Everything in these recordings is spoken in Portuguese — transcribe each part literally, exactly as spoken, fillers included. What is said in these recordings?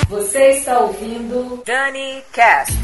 Você está ouvindo Dani Cast.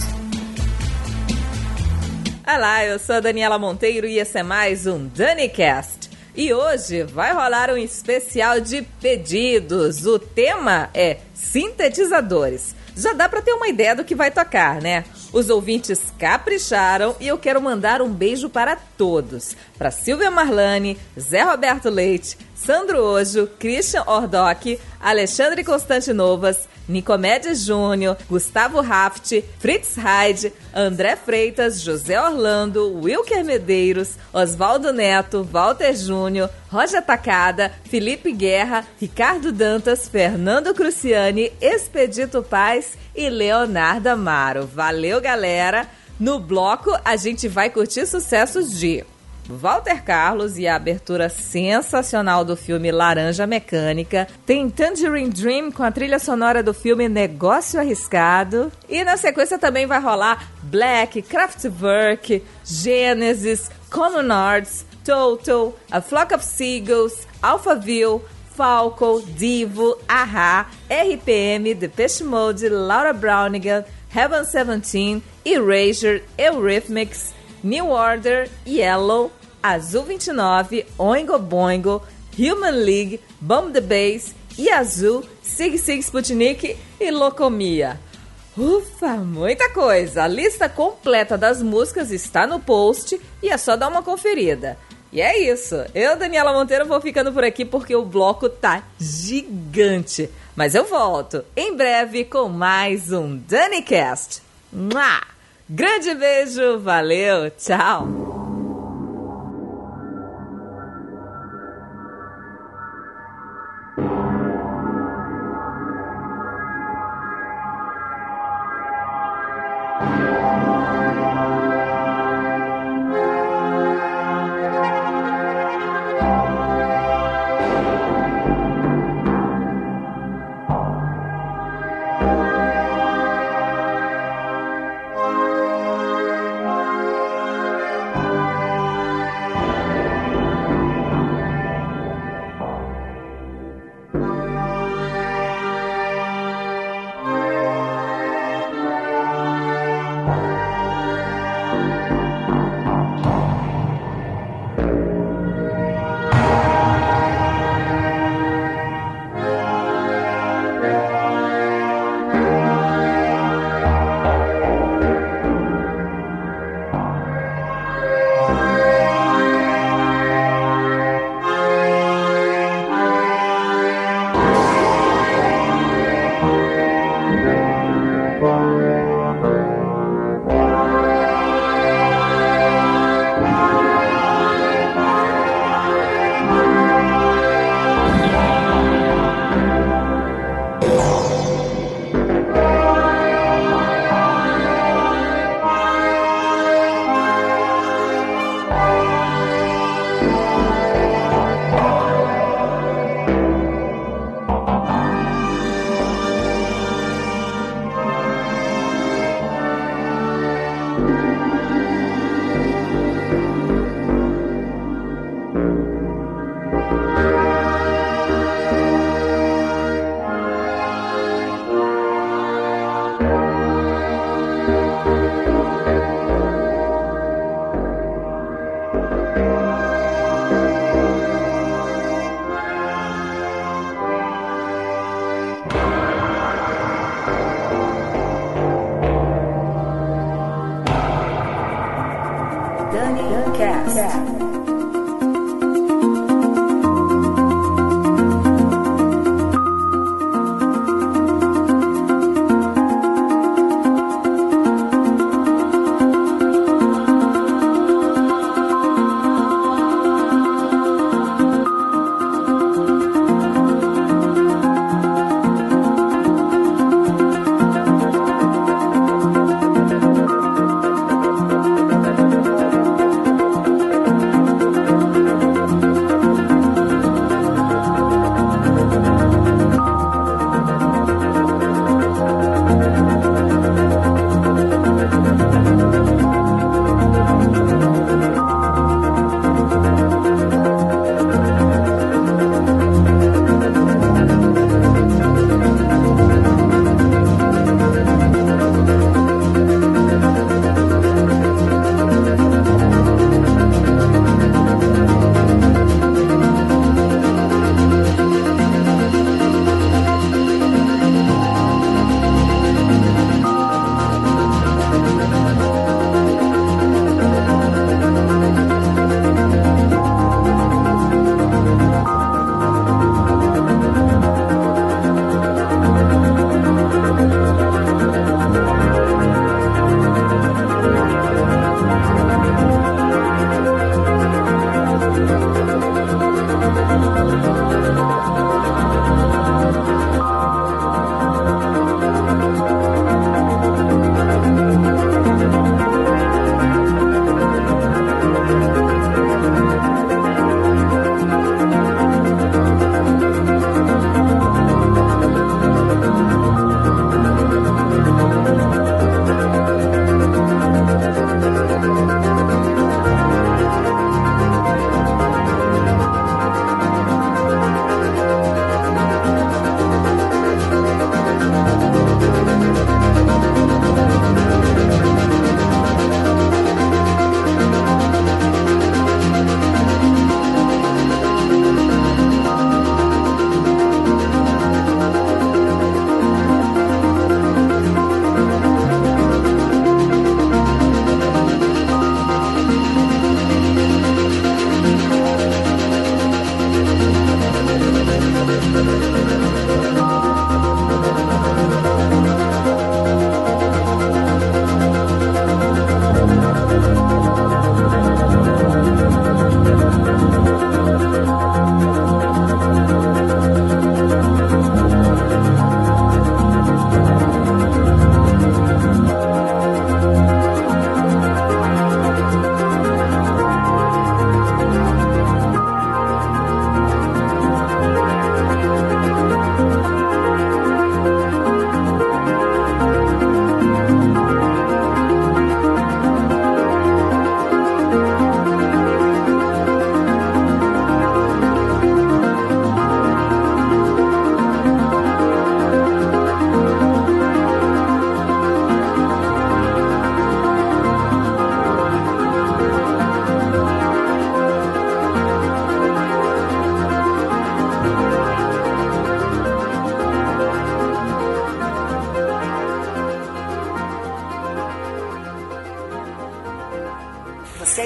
Olá, eu sou a Daniela Monteiro e esse é mais um Dani Cast. E hoje vai rolar um especial de pedidos. O tema é sintetizadores. Já dá pra ter uma ideia do que vai tocar, né? Os ouvintes capricharam e eu quero mandar um beijo para todos. Para Silvia Marlani, Zé Roberto Leite, Sandro Ojo, Christian Ordoc, Alexandre Constantinovas, Nicomedes Júnior, Gustavo Raft, Fritz Hyde, André Freitas, José Orlando, Wilker Medeiros, Oswaldo Neto, Walter Júnior, Roger Tacada, Felipe Guerra, Ricardo Dantas, Fernando Cruciani, Expedito Paz e Leonardo Amaro. Valeu, galera! No bloco, a gente vai curtir sucessos de Walter Carlos e a abertura sensacional do filme Laranja Mecânica. Tem Tangerine Dream com a trilha sonora do filme Negócio Arriscado. E na sequência também vai rolar Black, Kraftwerk, Genesis, Common Arts, Total, A Flock of Seagulls, Alphaville, Falco, Divo, A-ha, R P M, Depeche Mode, Laura Brownigan, Heaven Seventeen, Erasure, Eurythmics, New Order, Yellow, Azul vinte e nove, Oingo Boingo, Human League, Bomb the Bass, Yazoo, Sig Sig Sputnik e Locomia. Ufa, muita coisa! A lista completa das músicas está no post e é só dar uma conferida. E é isso, eu, Daniela Monteiro, vou ficando por aqui porque o bloco tá gigante. Mas eu volto em breve com mais um DaniCast. Mua! Grande beijo, valeu, tchau!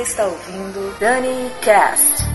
está ouvindo Dani Cast.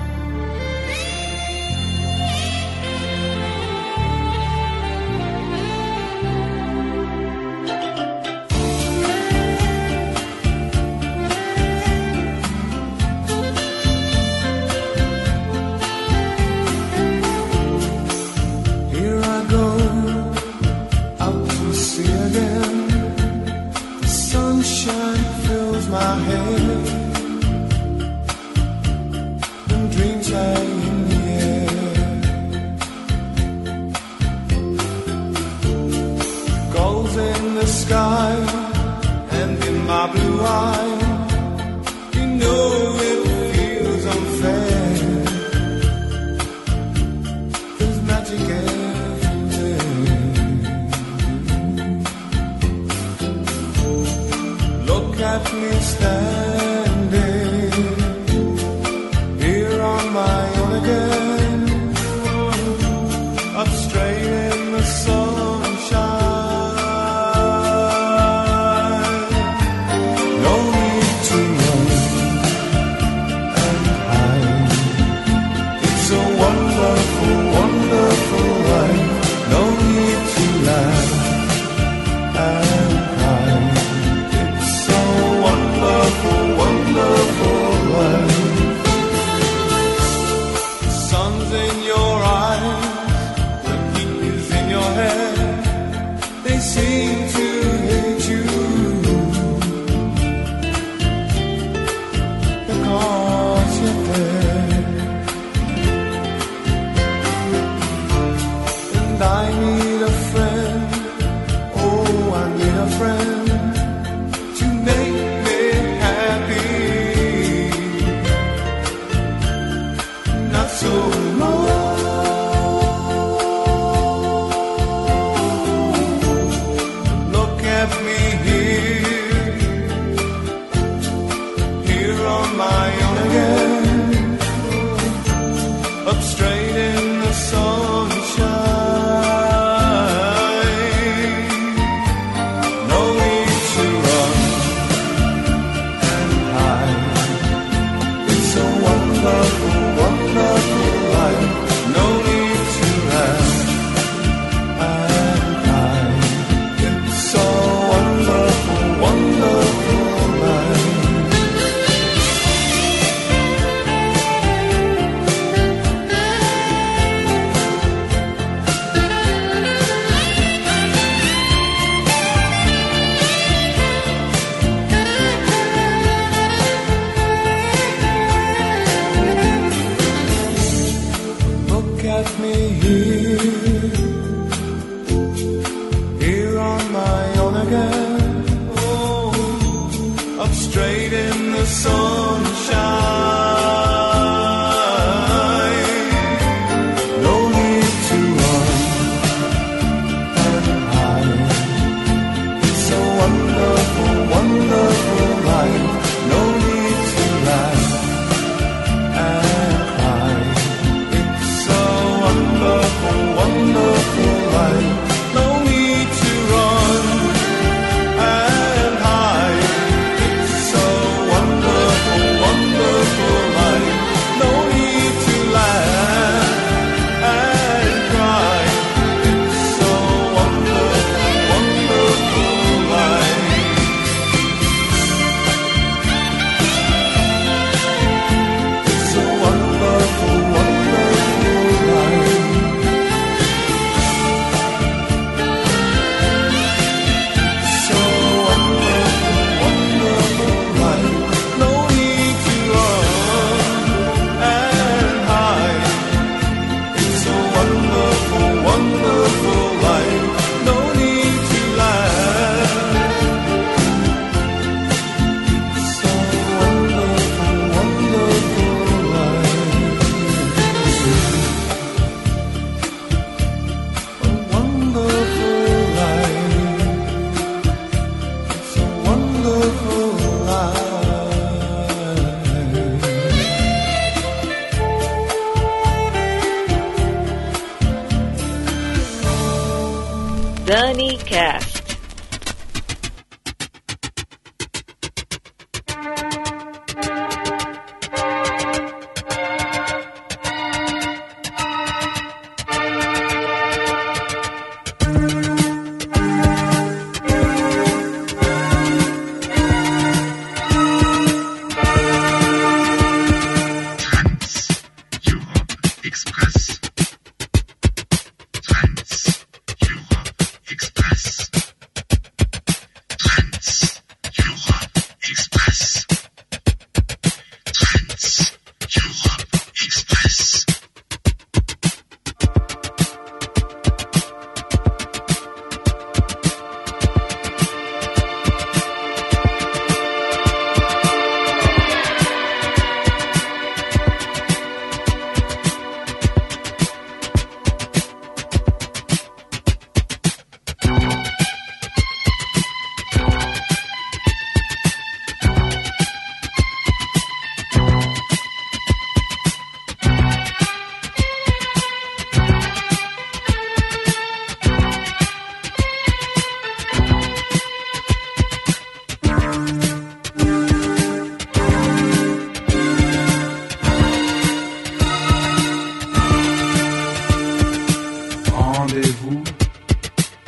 Dani Cast.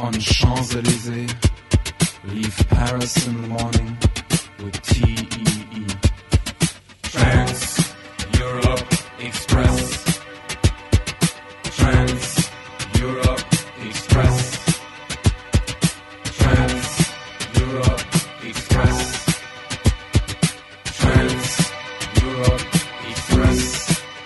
On Champs-Élysées, leave Paris in the morning with T E E. Trans Europe Express. Trans Europe Express. Trans Europe Express. Trans Europe Express.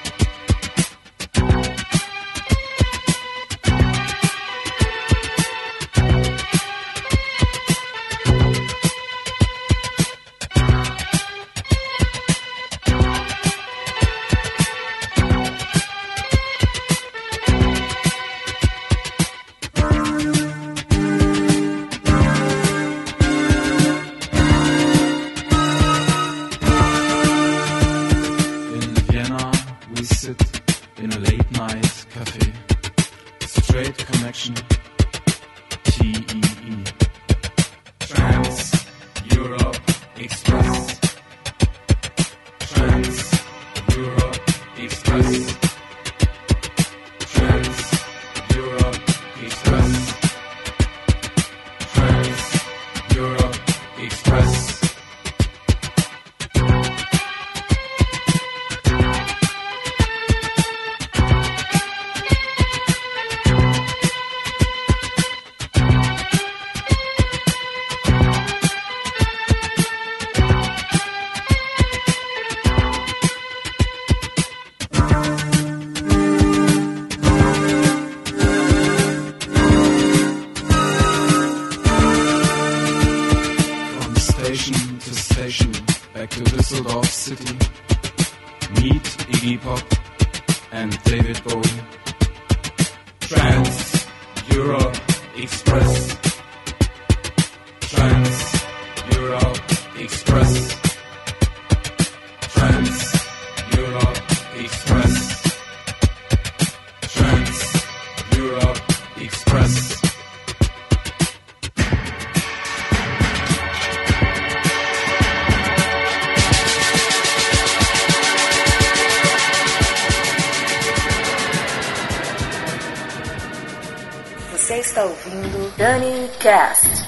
Você está ouvindo Dani Cast.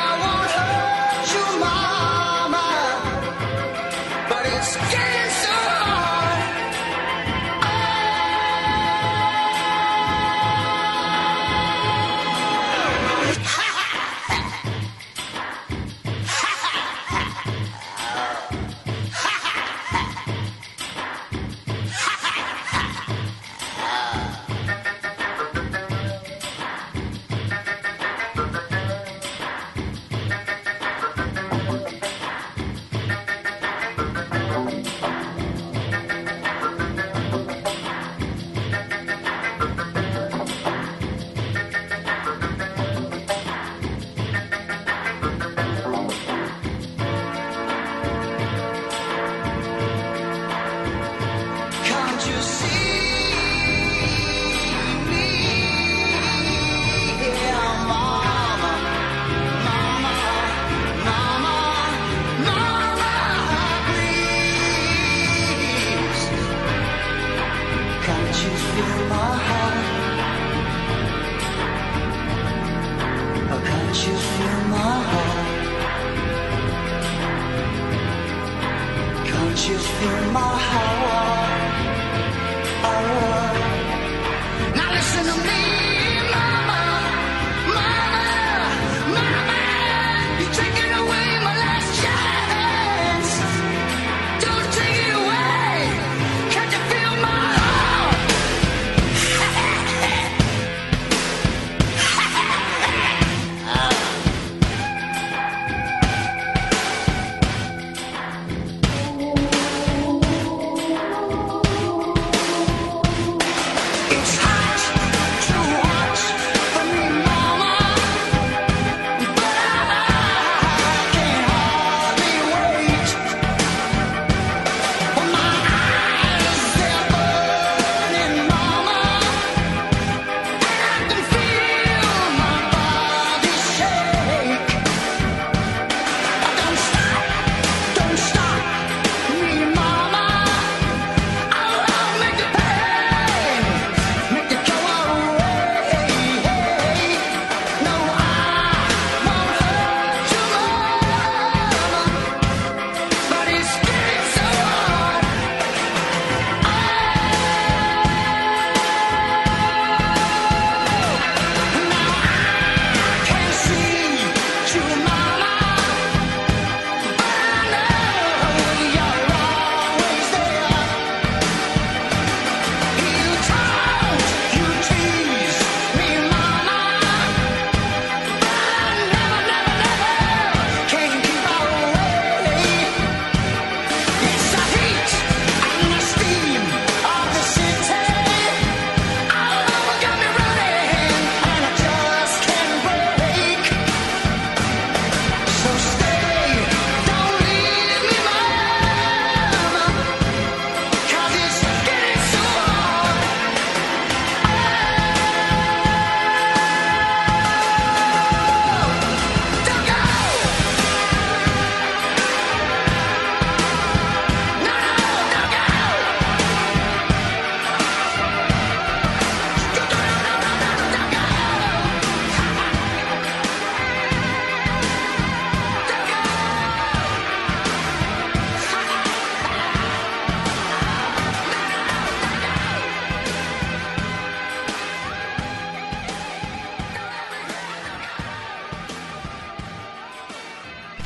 But it's getting so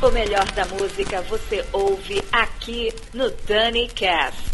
O melhor da música você ouve aqui no Dani Cast.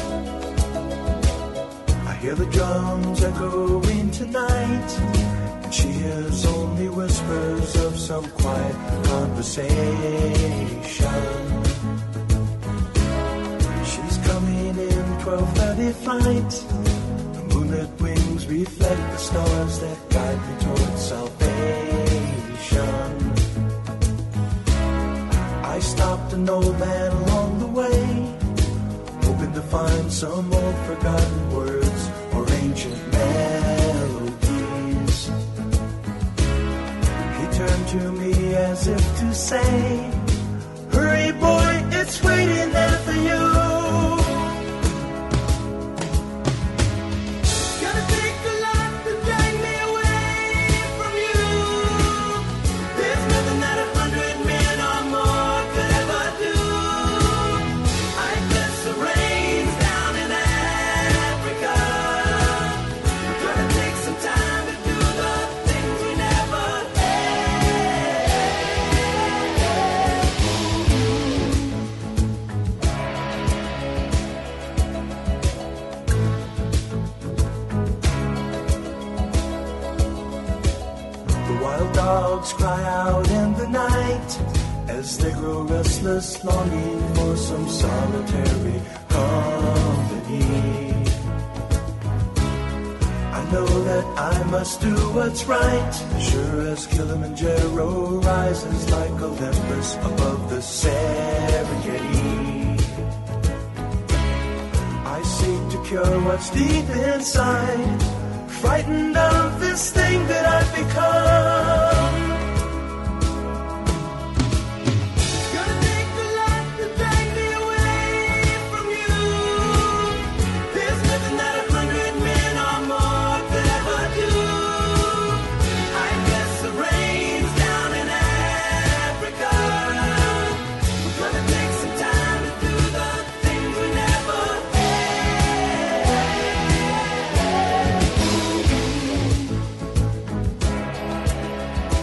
hear the drums echoing tonight. and she hears only whispers of some quiet conversation. She's coming in twelve thirty flight. The moonlit wings reflect the stars that guide me towards salvation. I stopped an old man along the way, hoping to find some old forgotten words or ancient melodies. He turned to me as if to say, hurry boy, it's waiting there for you. Gonna take a lot to drag me away from you. There's nothing that a hundred men or more could ever do. I guess the rain's down in Africa. We're gonna take some time to do the things we never The wild dogs cry out in the night as they grow restless, longing for some solitary company. I know that I must do what's right, sure as Kilimanjaro rises like Olympus above the Serengeti. I seek to cure what's deep inside, frightened of this thing that I've become. Gonna take a lot to drag me away from you. There's nothing that a hundred men or more could ever do. I guess the rain's down in Africa. We're gonna take some time to do the things we never had.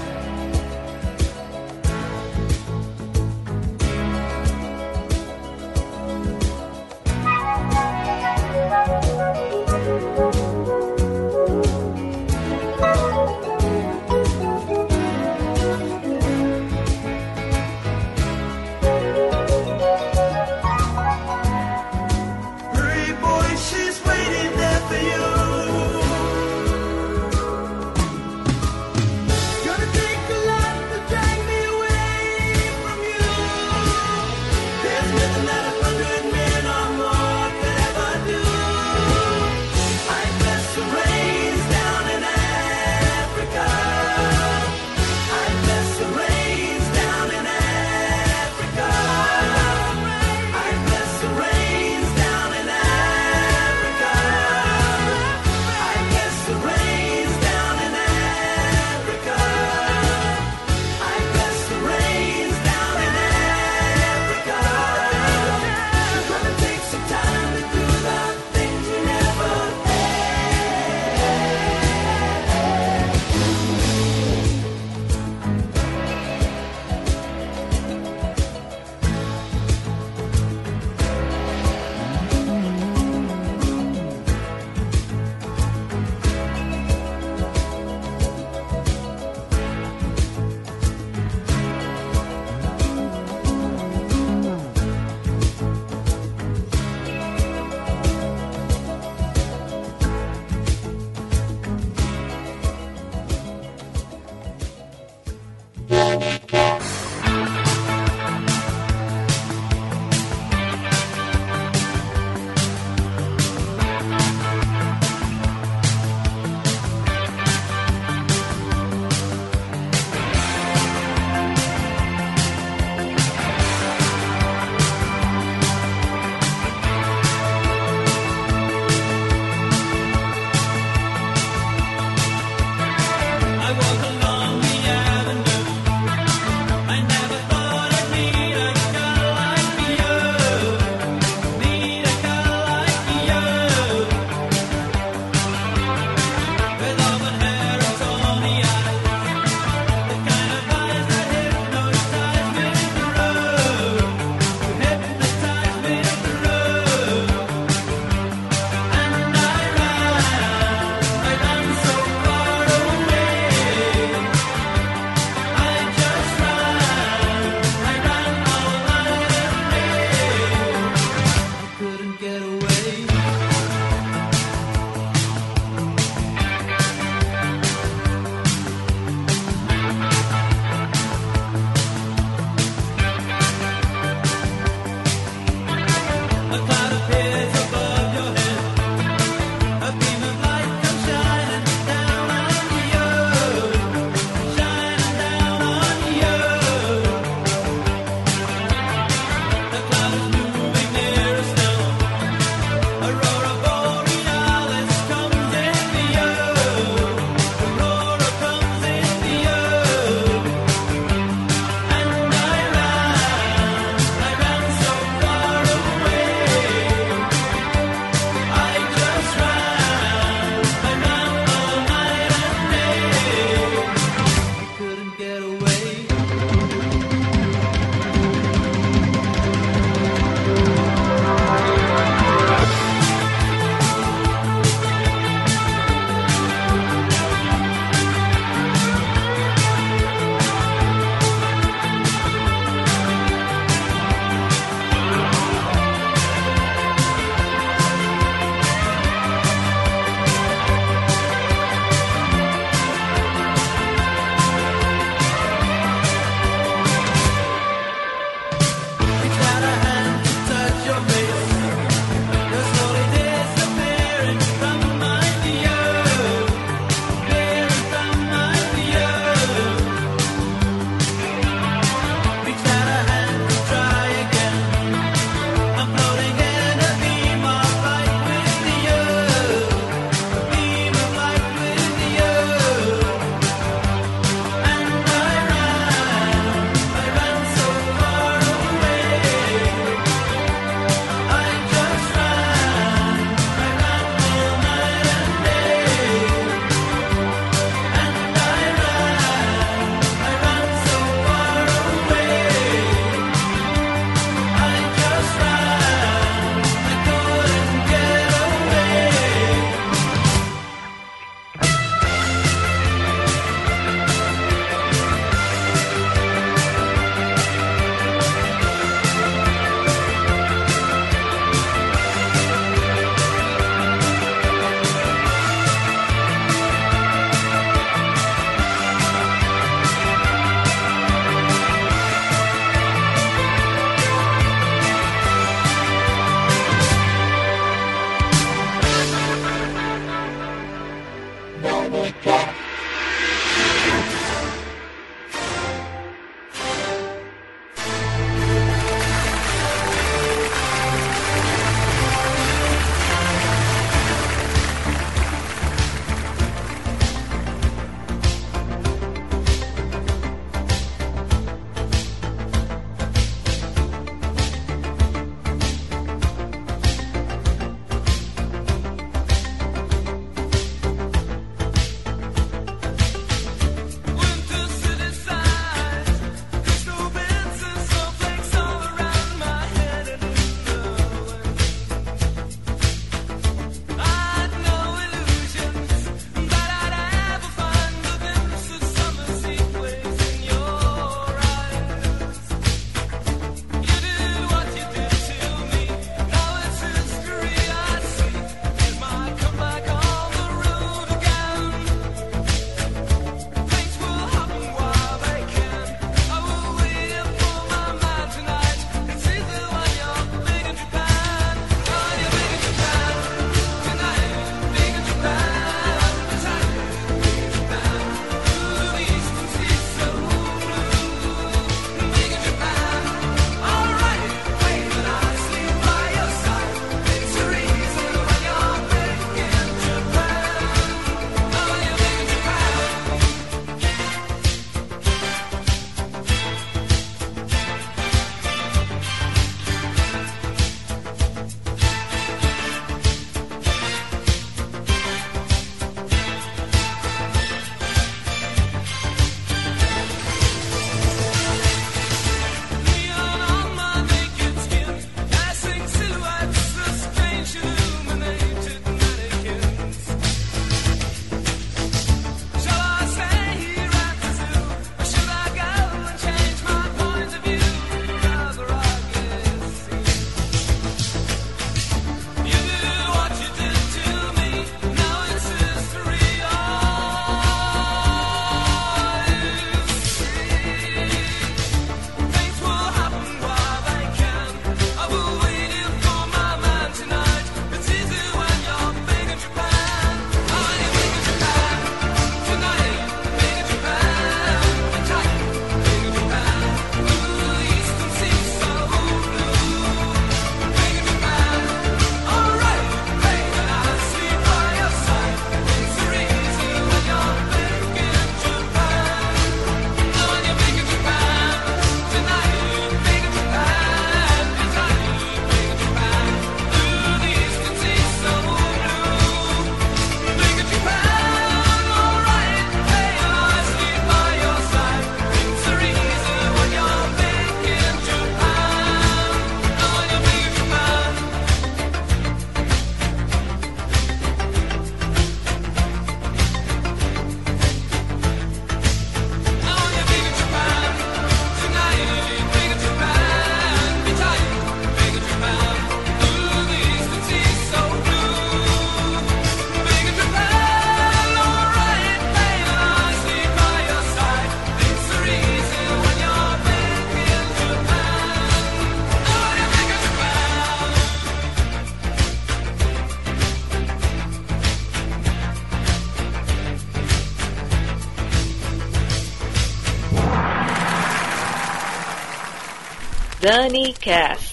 DaniCast.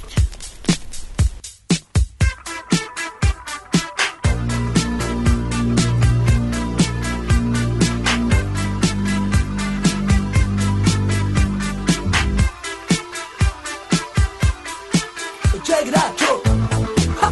Check it out, Joe. Ha.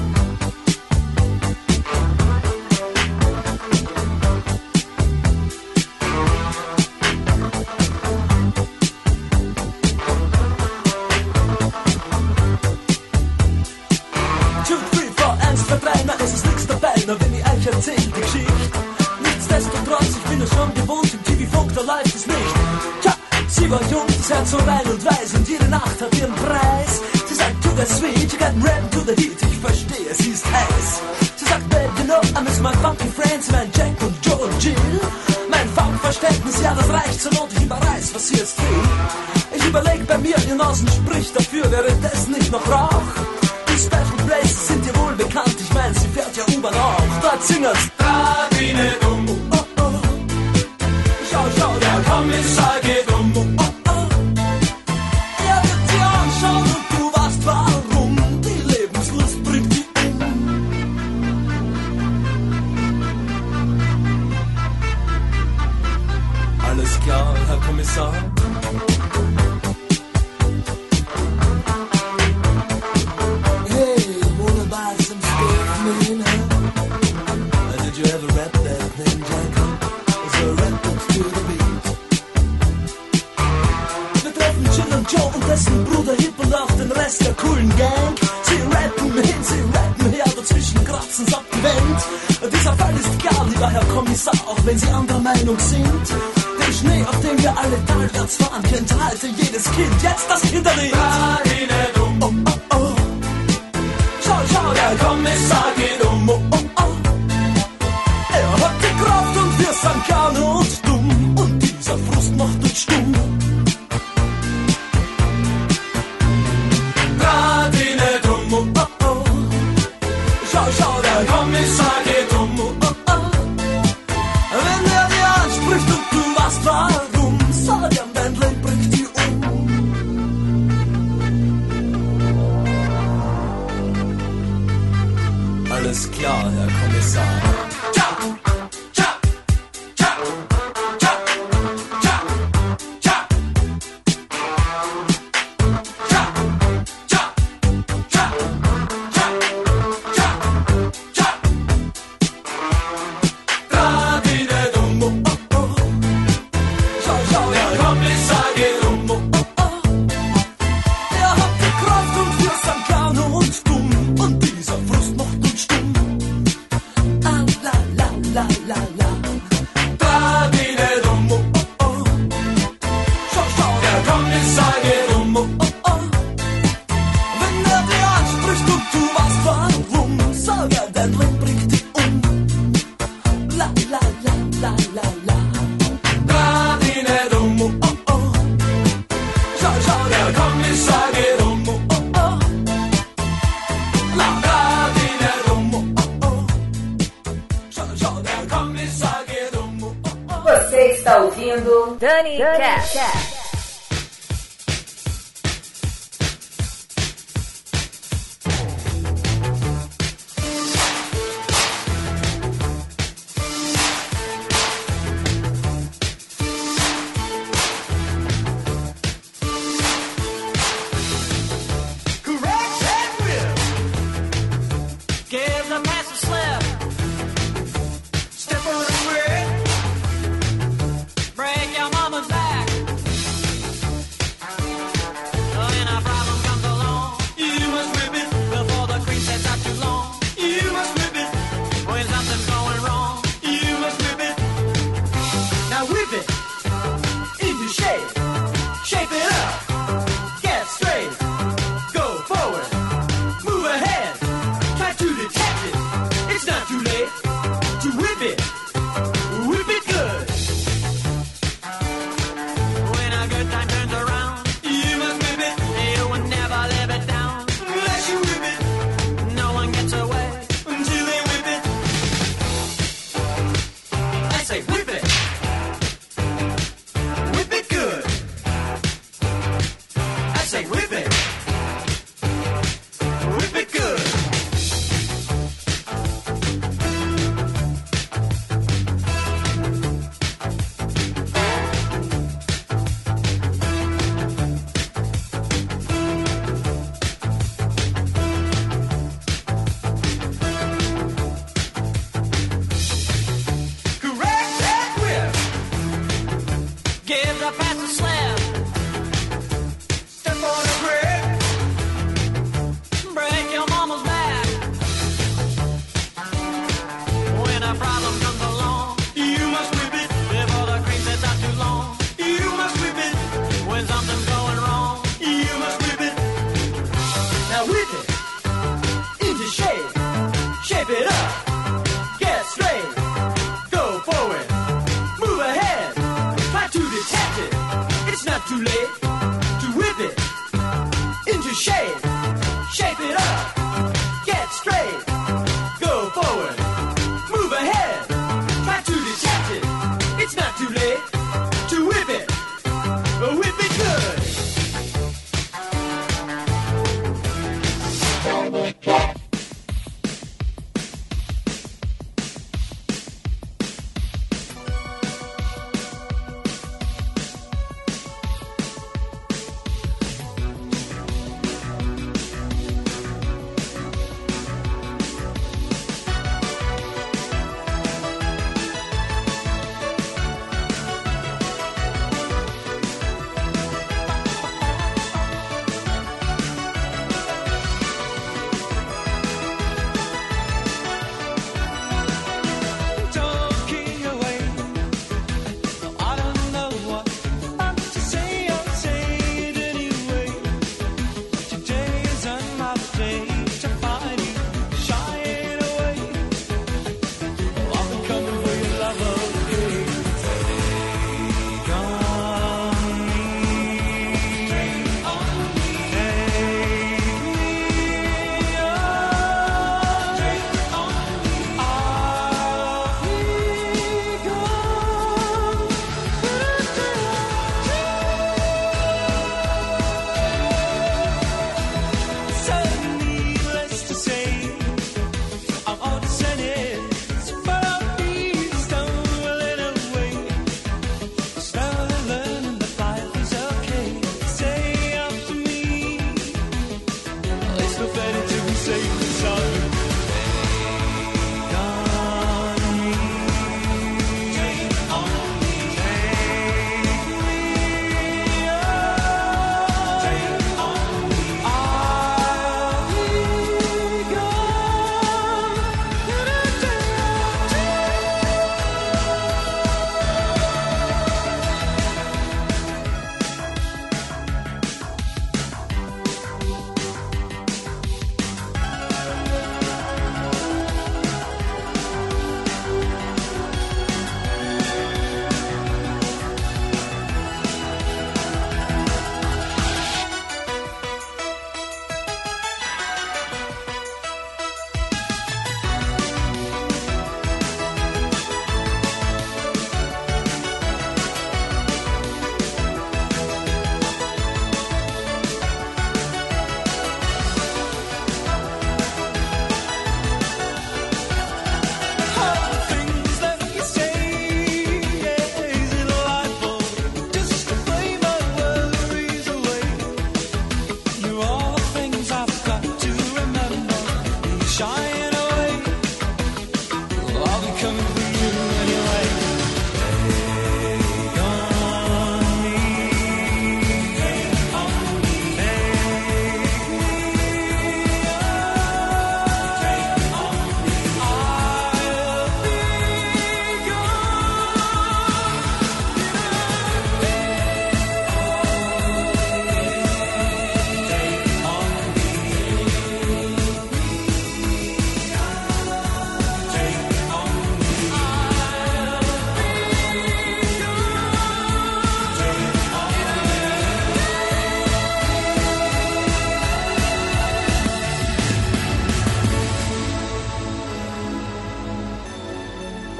Two, three, four, eins, zwei, drei, na es ist nix dabei, nur wenn ich euch erzähl die Geschichte. Nichtsdestotrotz, ich bin es schon gewohnt, im T V-Funk, da läuft es nicht. Tja, sie war jung, das Herz so rein und weiß und jede Nacht hat ihren Preis. Sie sagt, to the sweet, you got rap to the heat, ich verstehe, sie ist heiß. Sie sagt, babe, you know, I miss my funky friends, mein Jack und Joe und Jill. Mein Funkverständnis, ja, das reicht zur Not, ich überreiß, was sie jetzt will. Ich überleg bei mir, ihr Nasen spricht dafür, wäre das nicht noch Rauch? Die Special Places sind dir wohl bekannt, ich mein, sie fährt ja U-Bahn auch. Dort singen's, da wie ne dumm, oh, oh. Schau, schau, der Kommissar geht um, oh, oh. Er wird sie anschauen und du weißt warum, die Lebenslust bringt die um. Alles klar, Herr Kommissar? Hey, wanna buy some stuff, man, huh? Did you ever rap that thing, Jacob? Is a rap to the beat? Wir treffen Jill und Joe und dessen Bruder Hip und auch den Rest der coolen Gang. Sie rappen hin, sie rappen her, dazwischen kratzen's ab die Wand. Dieser Fall ist klar, lieber Herr Kommissar, auch wenn Sie anderer Meinung sind. Den Schnee, auf dem wir alle talwärts fahren, kennt heute jedes Kind. Jetzt das Kinderlied. Oh, oh, oh. Schau, schau, der Kommissar geht um. Oh, oh, oh. Er hat die Kraft und wir sind gern und dumm. Und dieser Frust macht uns stumm. Grad wie ne dumm. Oh, oh, oh. Schau, schau, der Kommissar geht um. Oh, oh, oh. Wenn er dir anspricht und du weißt warum, sag ihm, dein Leben bringt die um. Alles klar, Herr Kommissar. Tja, tja, tja, tja, tja, tja. Tja, tja, tja, tja, tja, tja. Da wie ne dumm, oh, oh, oh. Schau, schau, der Kommissar geht um, oh, oh, oh. Er hat die Kraft und wir sind gern und dumm. Und dieser Frust macht uns stumm. Ah, la, la, la, la, la. Da wie ne dumm, oh, oh, oh. Schau, schau, der Kommissar geht um, oh, oh, oh. Wenn er dir anspricht und du weißt warum, sag er, dein Leben bringt dich um. La, la, la, la, la, la. Da wie ne dumm, oh, oh, oh. Schau, schau, der Kommissar geht um, oh, oh, oh. La, da wie ne dumm, oh, oh, oh. Schau, schau, der Kommissar geht um, oh, oh, oh. Você está ouvindo DaniCast. Correct and real. Give the master slip. Step on the grid. Break your mama's back.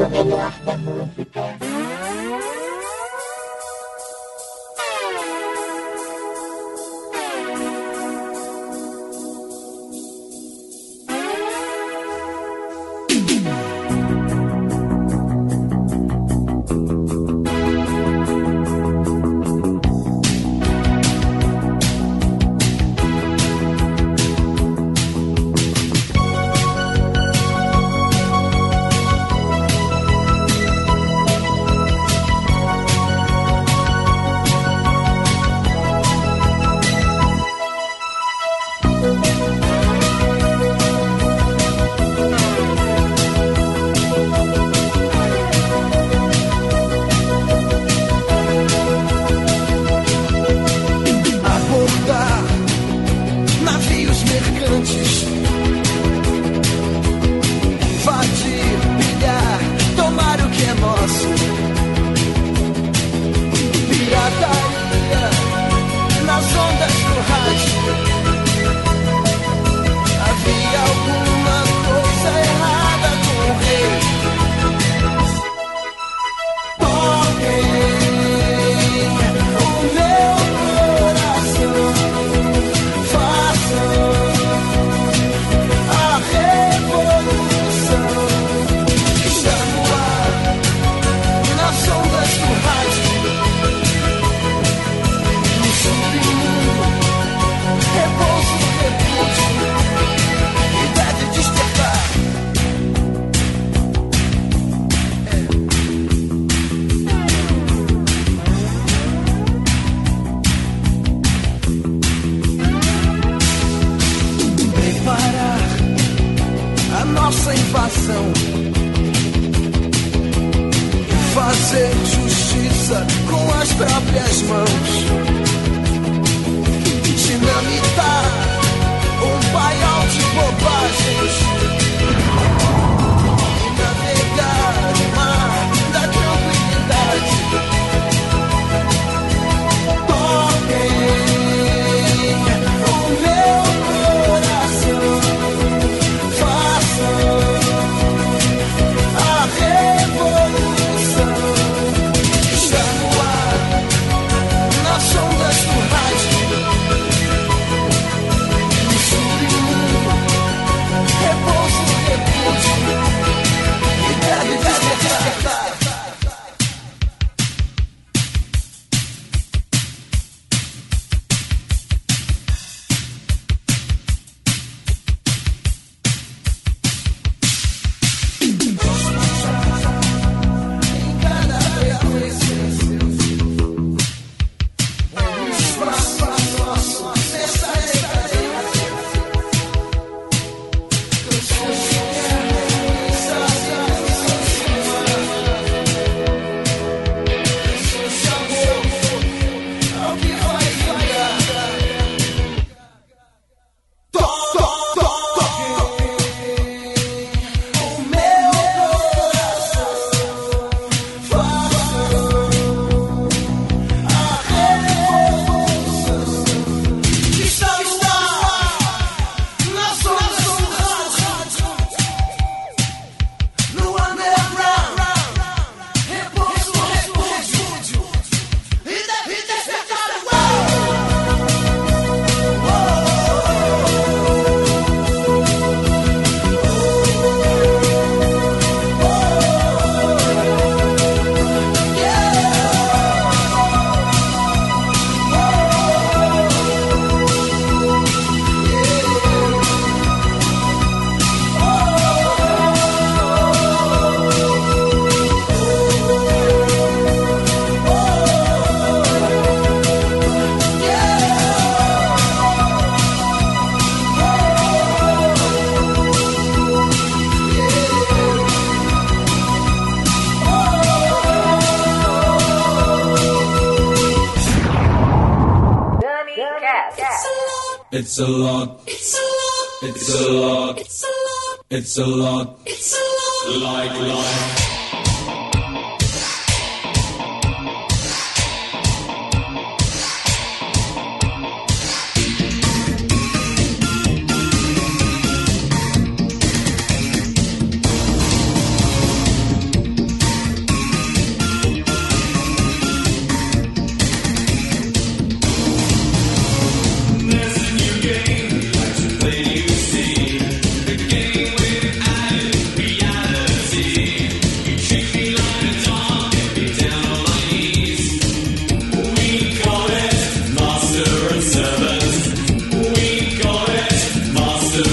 It's a lot. It's a lot. It's a lot. It's a lot. It's a lot. It's a lot. Like life.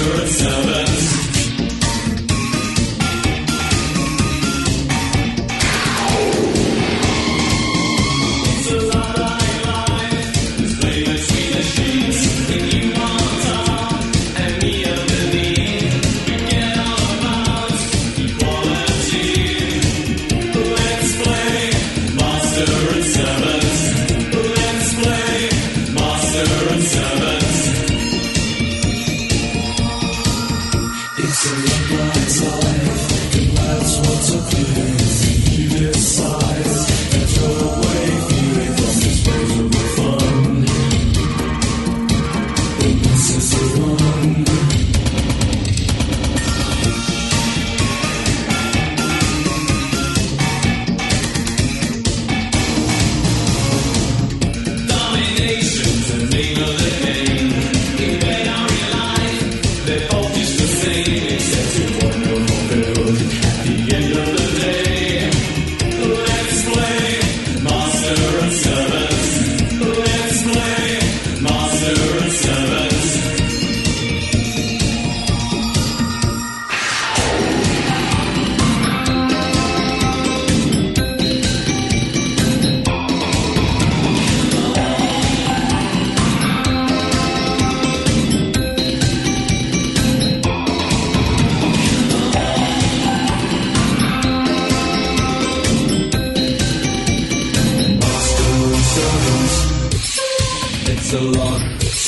It's a lot.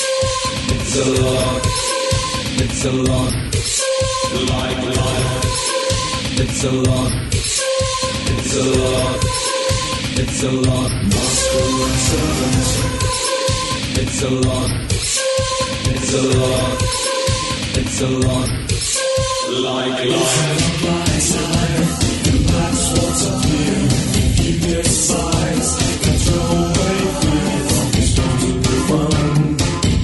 It's a lot. It's a lot. Like life. It's a lot. It's a lot. It's a lot. Master and servant. It's a lot. It's a lot. It's a lot. Like life. And that's what's up here. Keep your size. Control away fear from this total fun.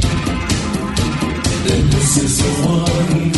Then this is the one.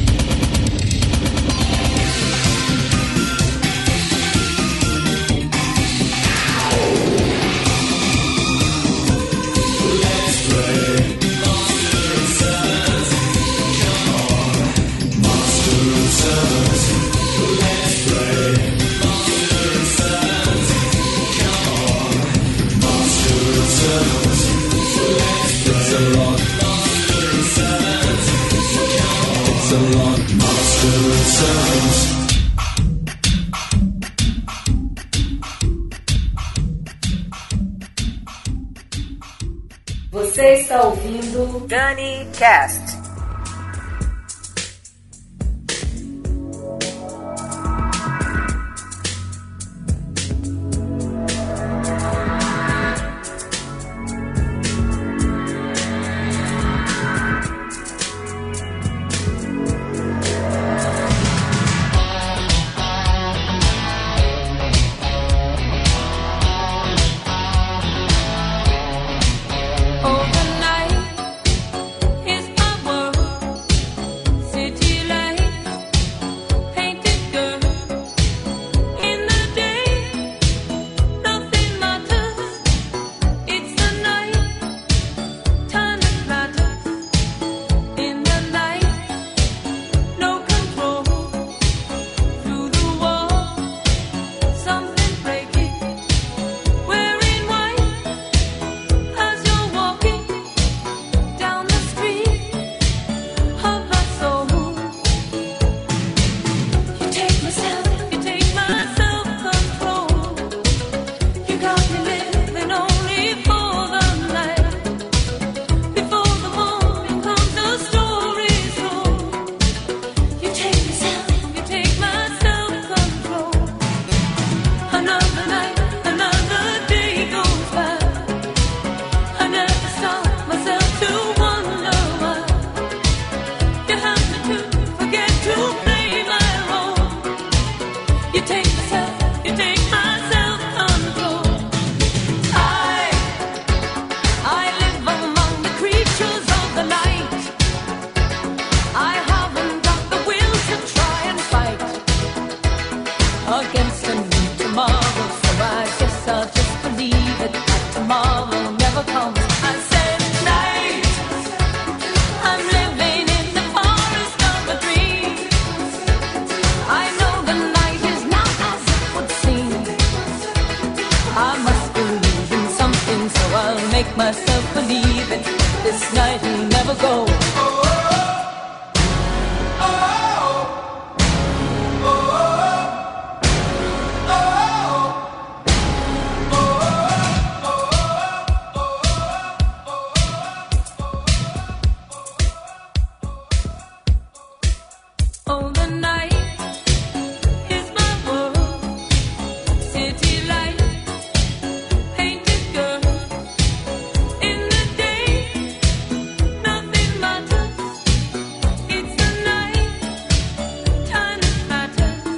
Você está ouvindo Dani Cast. Overnight is my make myself believe it. This night will never go. Oh, the night is my world. City light, painted girl. In the day, nothing matters. It's the night, time matters.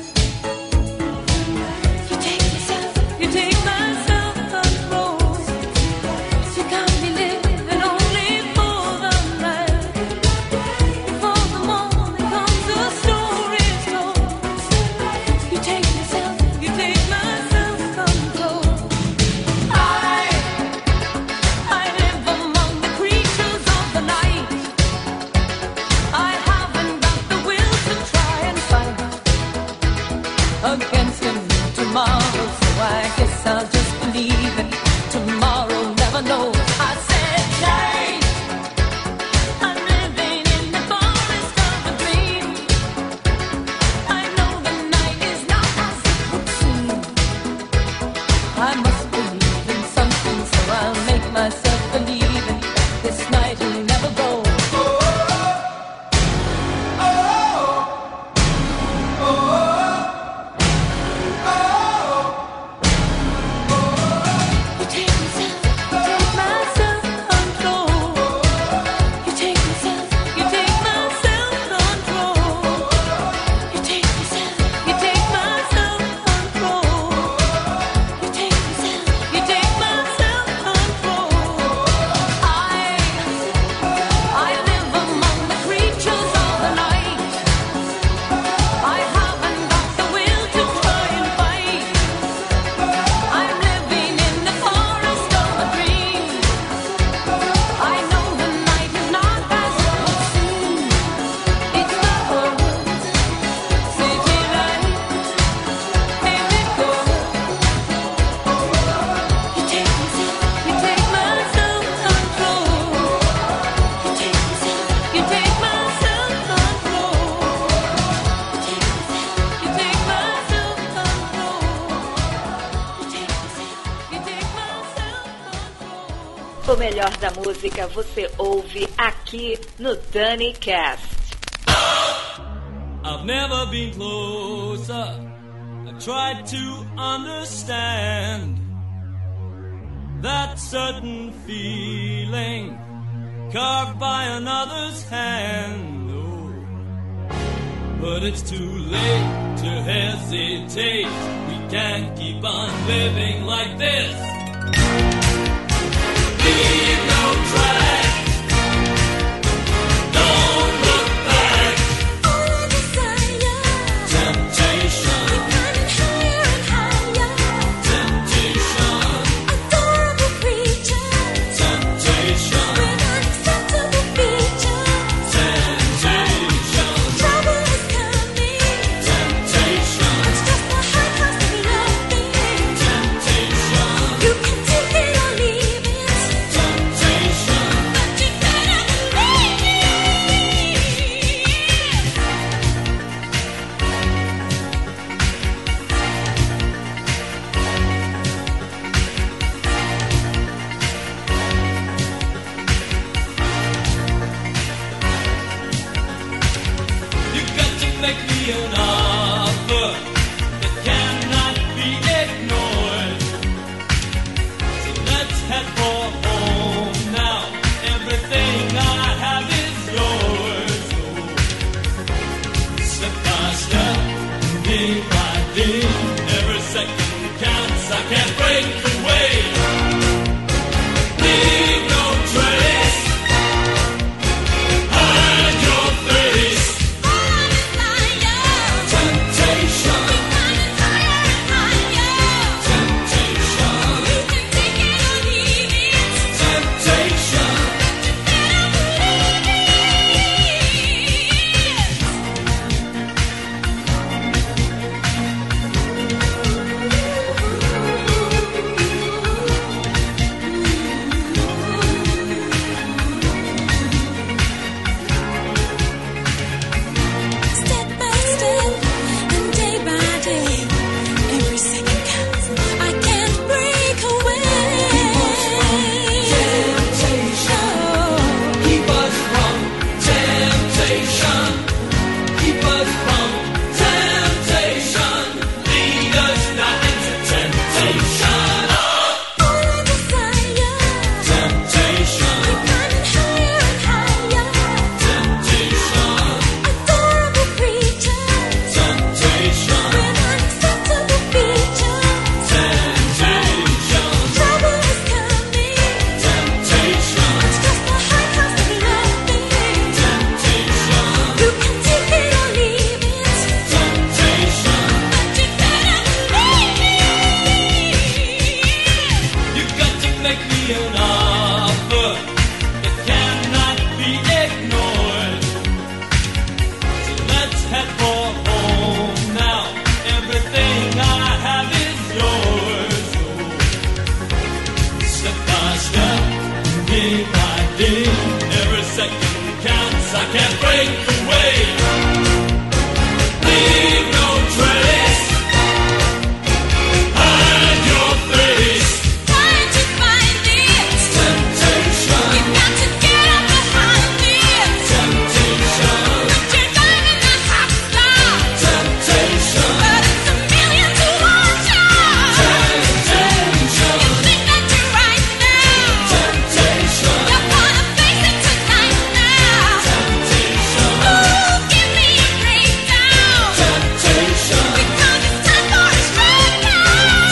You take yourself, you take my self-control. You can't be living only for the night. Before the morning comes, the story's told. You take yourself, you take my self-control. I, I live among the creatures of the night. I haven't got the will to try and fight against him tomorrow, so I guess I'll just believe it. Tomorrow never knows. I said night. I'm living in the forest of a dream. I know the night is not as it would seem. I must believe in something, so I'll make myself believe it. This night will never go. You take yourself, you take my self-control. You take yourself, you take my self-control. You take yourself, you take my self-control. You take yourself, you take my self-control. I, I live among the creatures of the night. I haven't got the will to try and fight. I'm living in the forest of a dream. I know the night is not as it would seem. It's the world, city light, painted gold. You take yourself, you take my self-control. You take yourself, you take my self-control. You take yourself, you take my self-control. You take yourself, you take my self-control. O melhor da música você ouve aqui no Dani Cast. I've never been closer. I tried to understand that certain feeling carved by another's hand. Oh, but it's too late to hesitate. We can't keep on living like this. Leave no track. Don't look back. Temptation. Temptation. Temptation. You can take it or leave it. us from temptation. Lead us not into temptation. All I desire, Temptation. climbing higher and higher. Temptation. Adorable creature Temptation. with unacceptable features. Temptation. Trouble is coming. Temptation. It's just the high cost of loving. Temptation. You can take it or leave it, Temptation. but you better believe me. You got to make me an offer that cannot be ignored. So let's head for home now. Everything I have is yours. So step by step, day by day, every second counts. I can't break away. Leave no trace. Hide your face. Find you find it. Temptation. You've got to get up behind it. Temptation. But you're driving a hot stop. Temptation. But it's a million to watch out. Temptation. You think that you're right now. Temptation. You're gonna face it tonight now. Temptation. Ooh, give me a breakdown. Temptation. Because it's time for a straight now.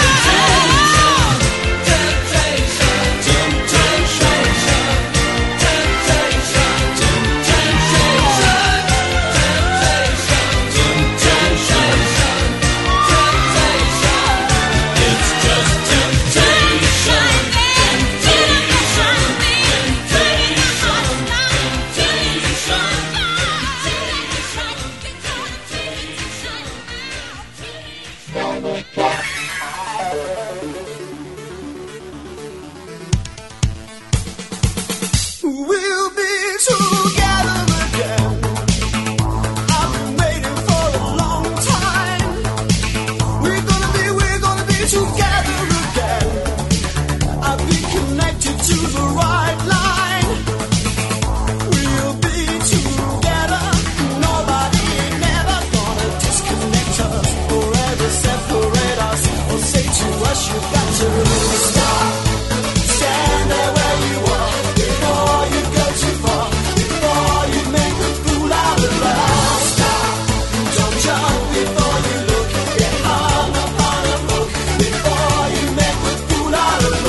We'll be together again. I've been waiting for a long time. We're gonna be, we're gonna be together again. I'll be connected to the right line. We'll be together. Nobody never gonna disconnect us or ever separate us or say to us you've got to stop. Stand there where you are before you go too far. Before you make a fool out of us. Stop. Don't jump before you look. Get hung upon a hook before you make a fool out of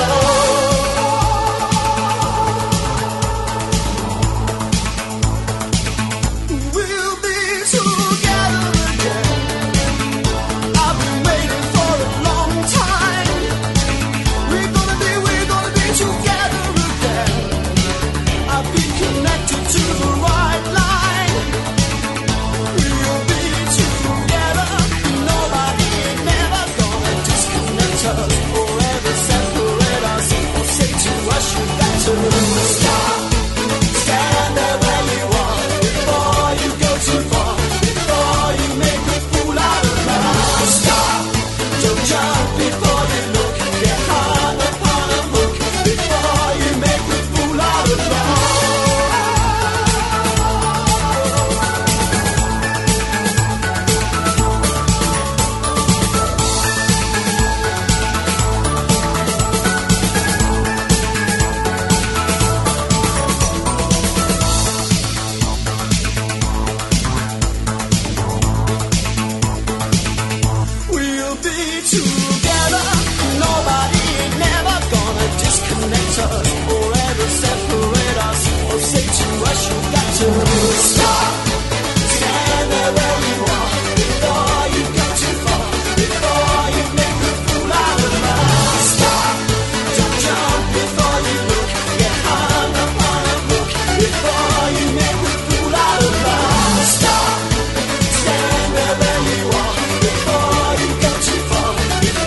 us. We'll be together again. I've been waiting for a long time. We're gonna be, we're gonna be together again. I'll be connected to the right line. We'll be together. Nobody never gonna disconnect us or ever separate us or say to us you got to stop. Stand there where you are before you go too far. Before you make a fool out of us. Stop. Don't jump before you look. Get hung upon a hook before you make a fool out of us. We'll be together. Nobody never gonna disconnect us or ever separate us or say to us you got to stop. Stand there where you are before you go too far. Before you make a fool out of us. Stop. Don't jump before you look. Get hung upon a hook before you make a fool out of us. Stop. Stand there where you are before you go too far.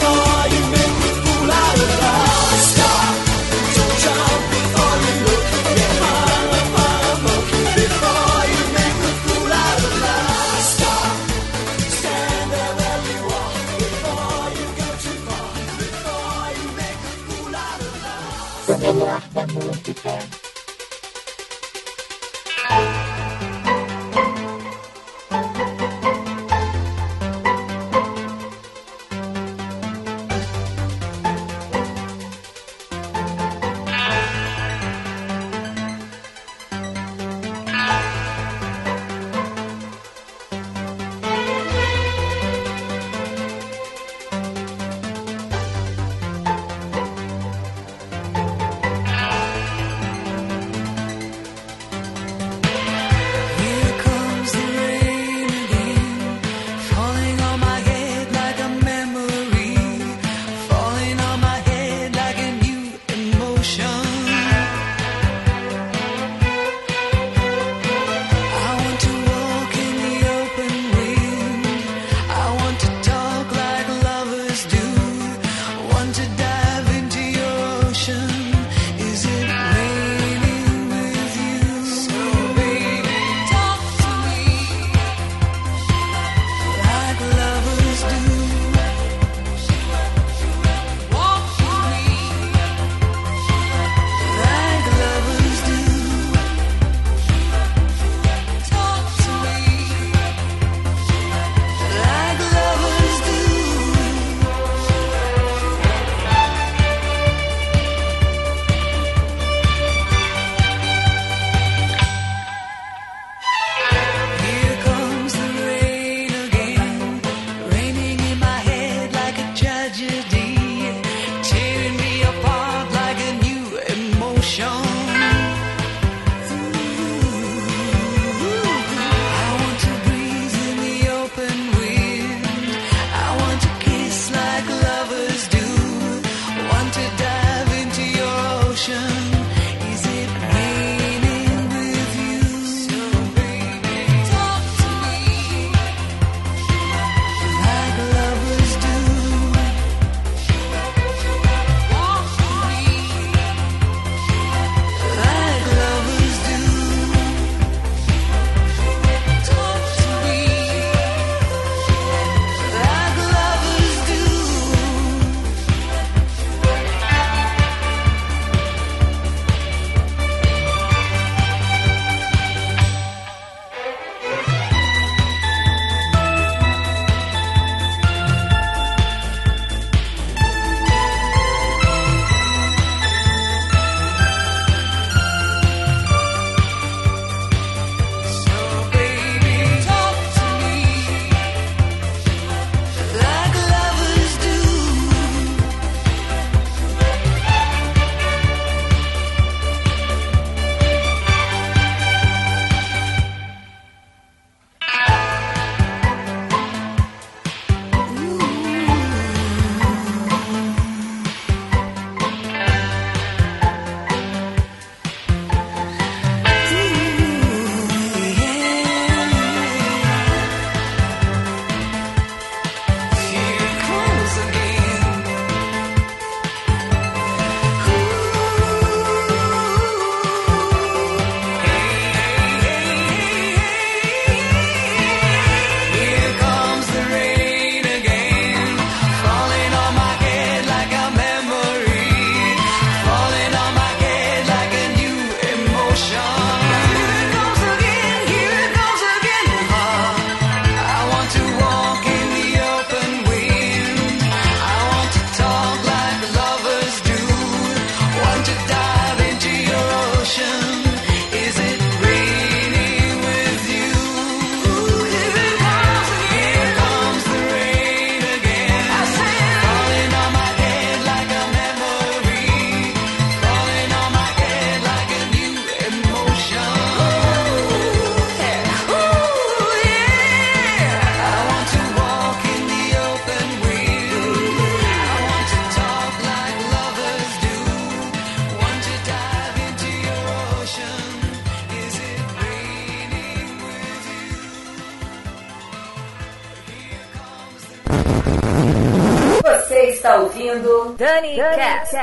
está ouvindo Dani Cast.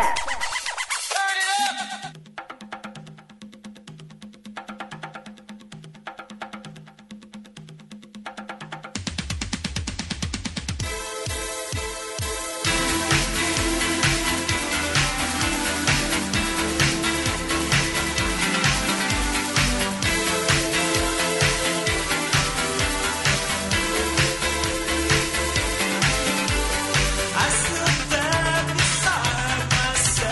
I stood there beside myself.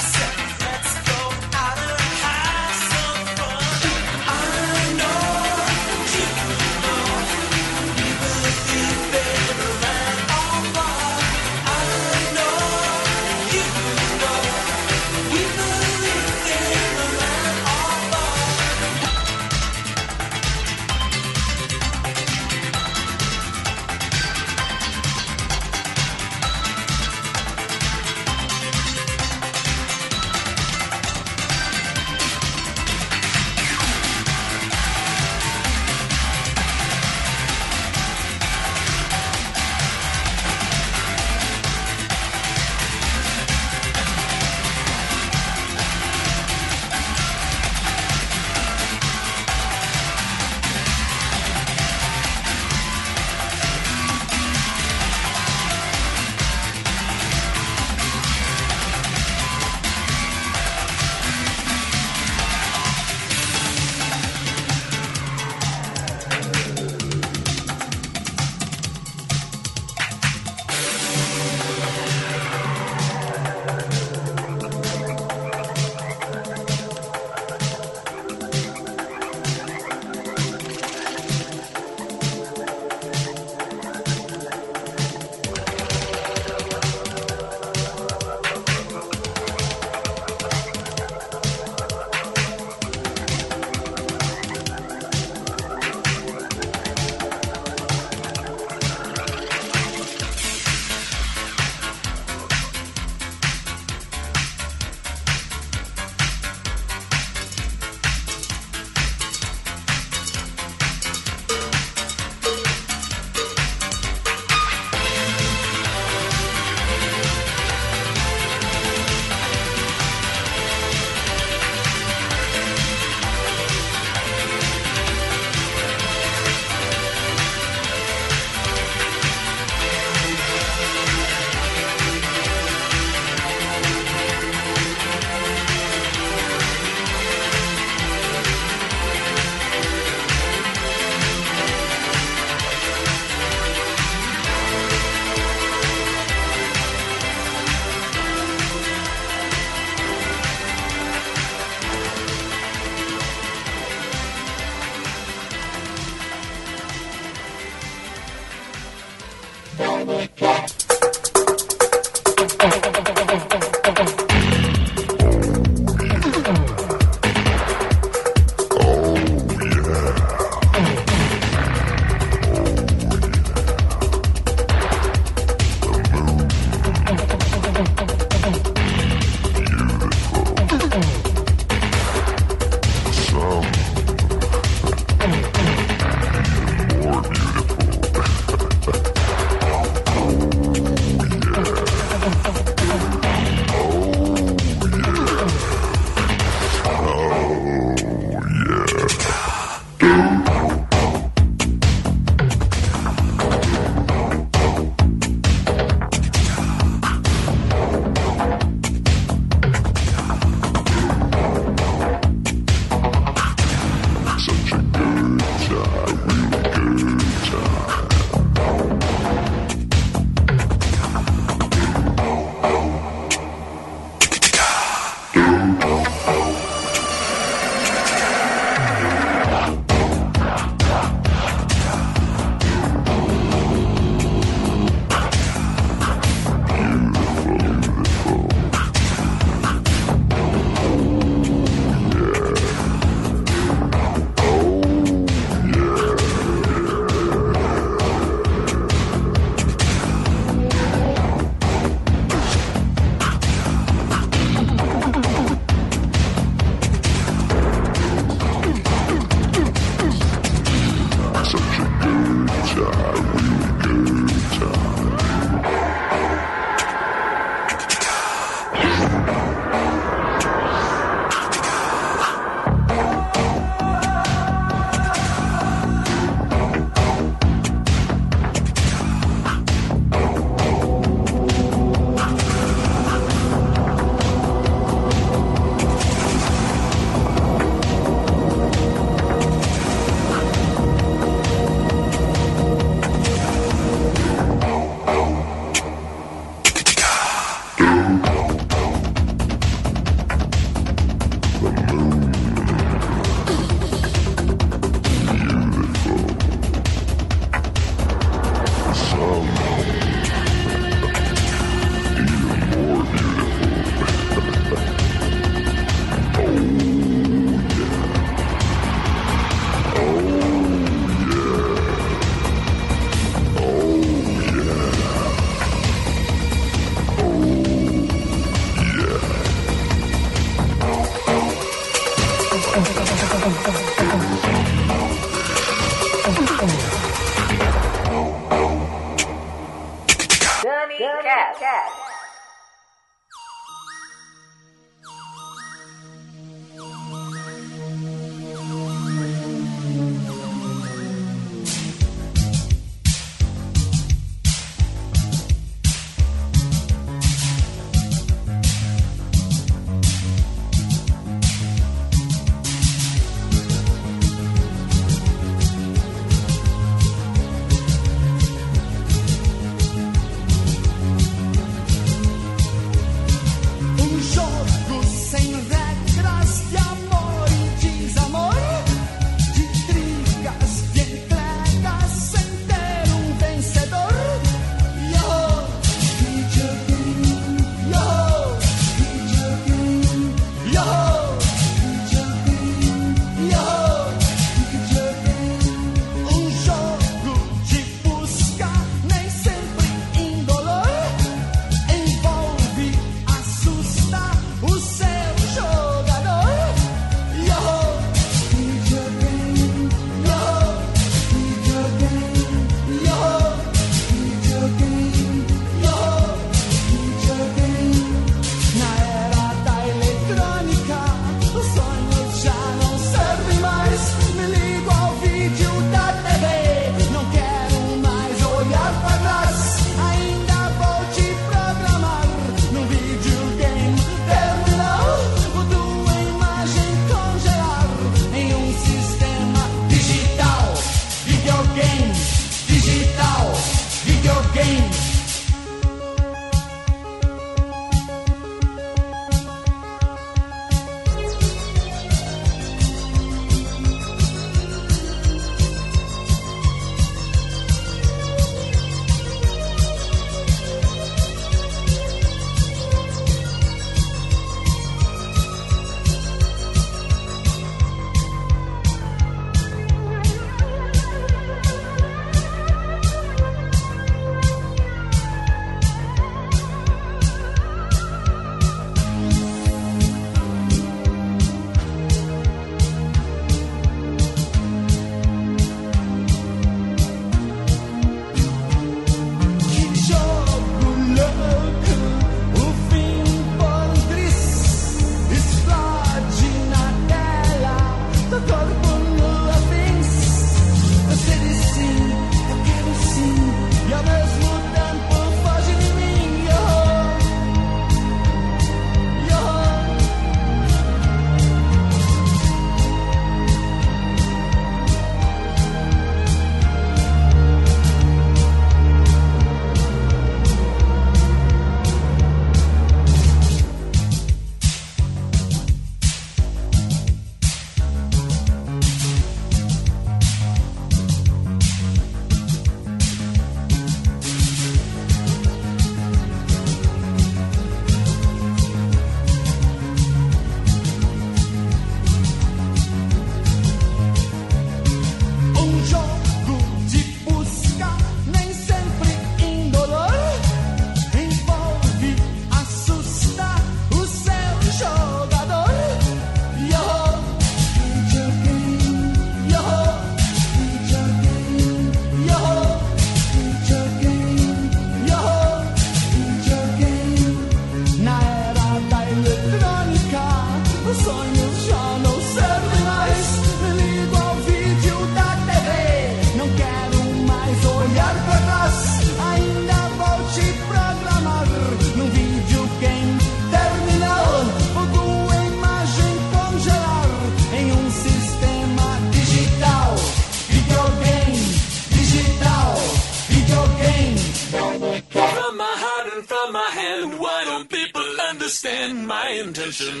understand my intention.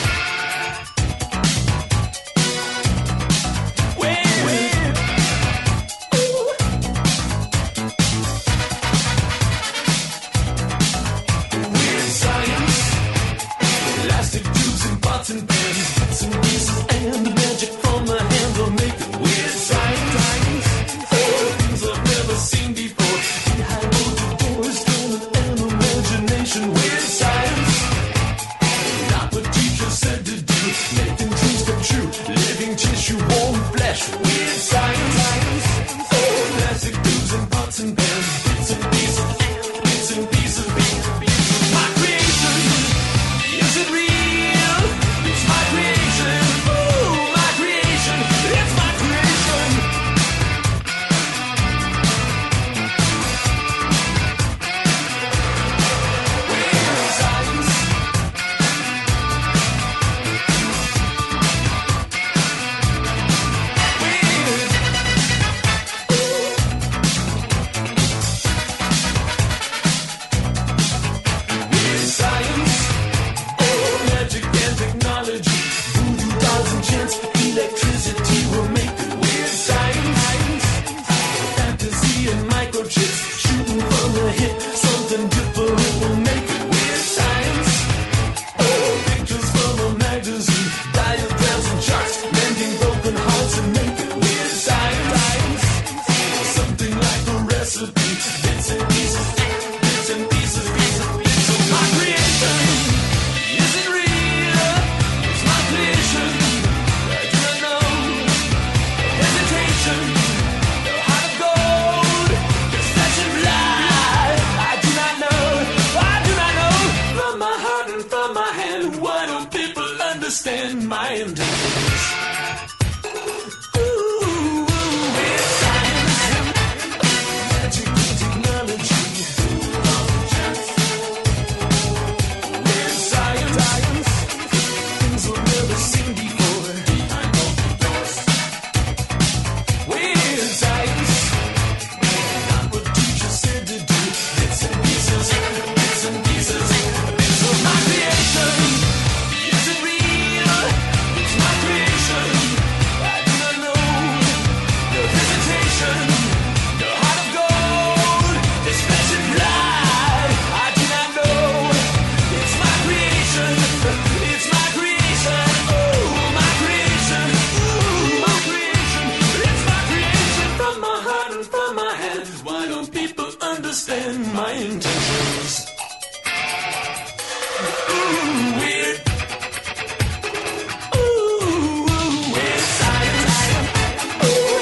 Wait, wait. Weird science, elastic tubes and pots and pans, bits and pieces, and the magic from the hand will make it weird science. Things I've never seen before, behind closed doors, stolen an imagination. Weird science, not what teacher said to do. understand my intentions. Ooh, with science, magic and technology. With science, things we've never seen before. With science, not what teacher said to do. Bits and pieces, bits and pieces, bits of my creation. Is it real? It's my creation. I do not know. No hesitation. No heart of gold. This flesh and blood. I do not know. It's my creation. It's my creation. Oh, my creation. Ooh, my creation. It's my creation from my heart and from my hands. Why don't people understand my intentions? Ooh, weird. Ooh, weird science. Ooh.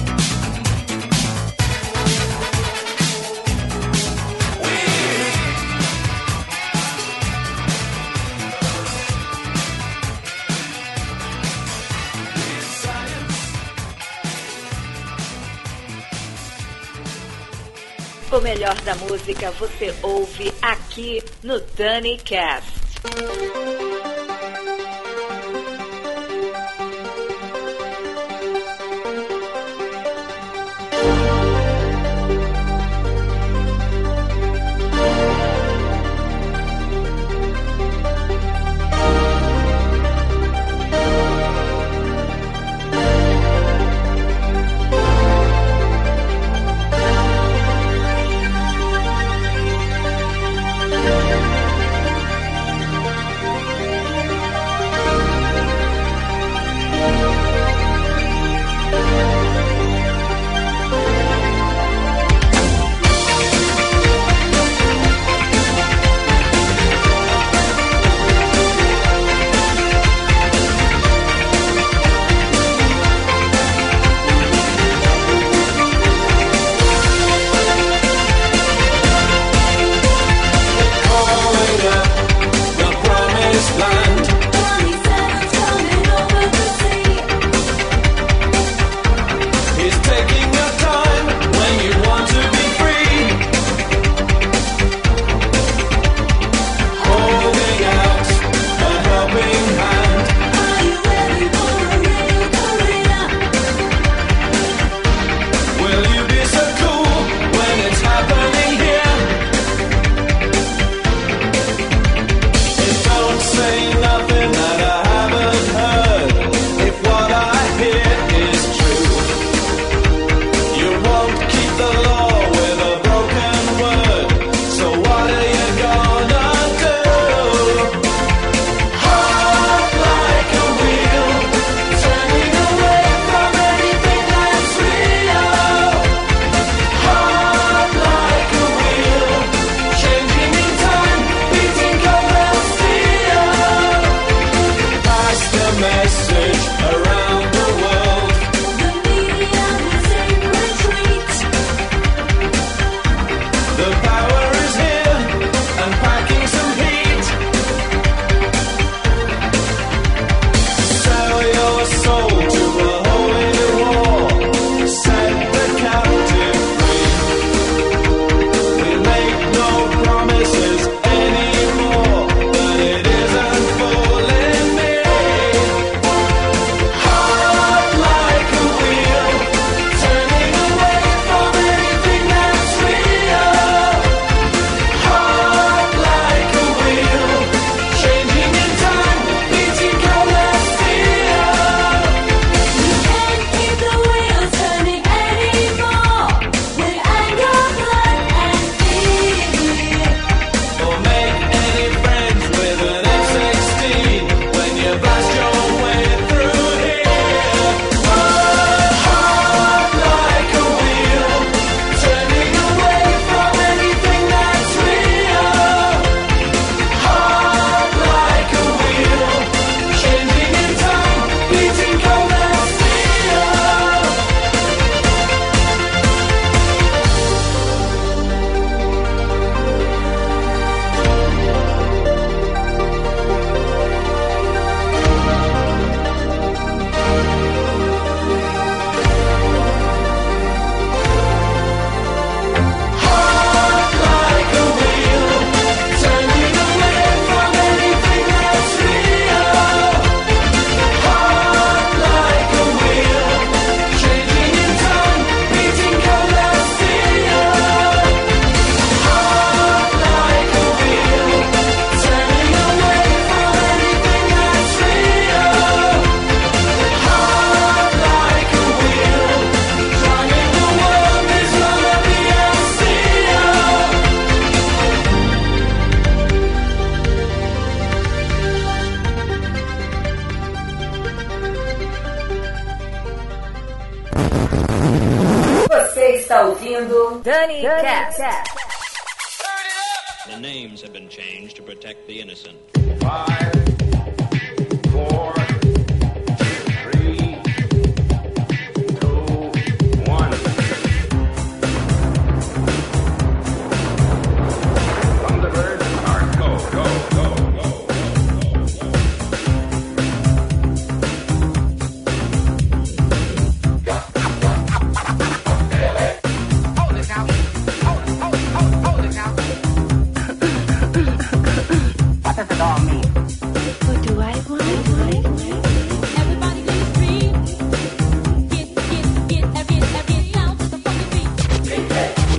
Weird. Weird science. O melhor da música você ouve aqui no Dani Cast. ouvindo Dani Cast. The names have been changed to protect the innocent. Five, four, three, two, one. Thunderbird, start. Go, go, go, go, go, go, Hold it now. Hold it, hold it, hold it, hold it now. What does it all mean? What do I want? Everybody get free. Get, get, get, get, get down to the fucking beat.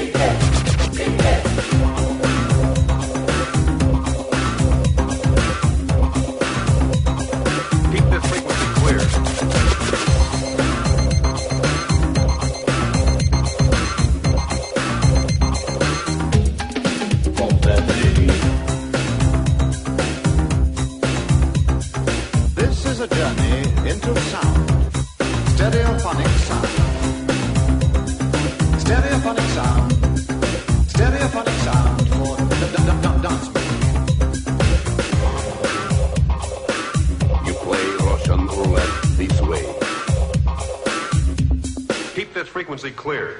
Keep this frequency clear. This is a journey into sound. Stereophonic sound. Stereophonic sound. Stereophonic sound for d- d- d- d- dance music. You play Russian roulette this way. Keep this frequency clear.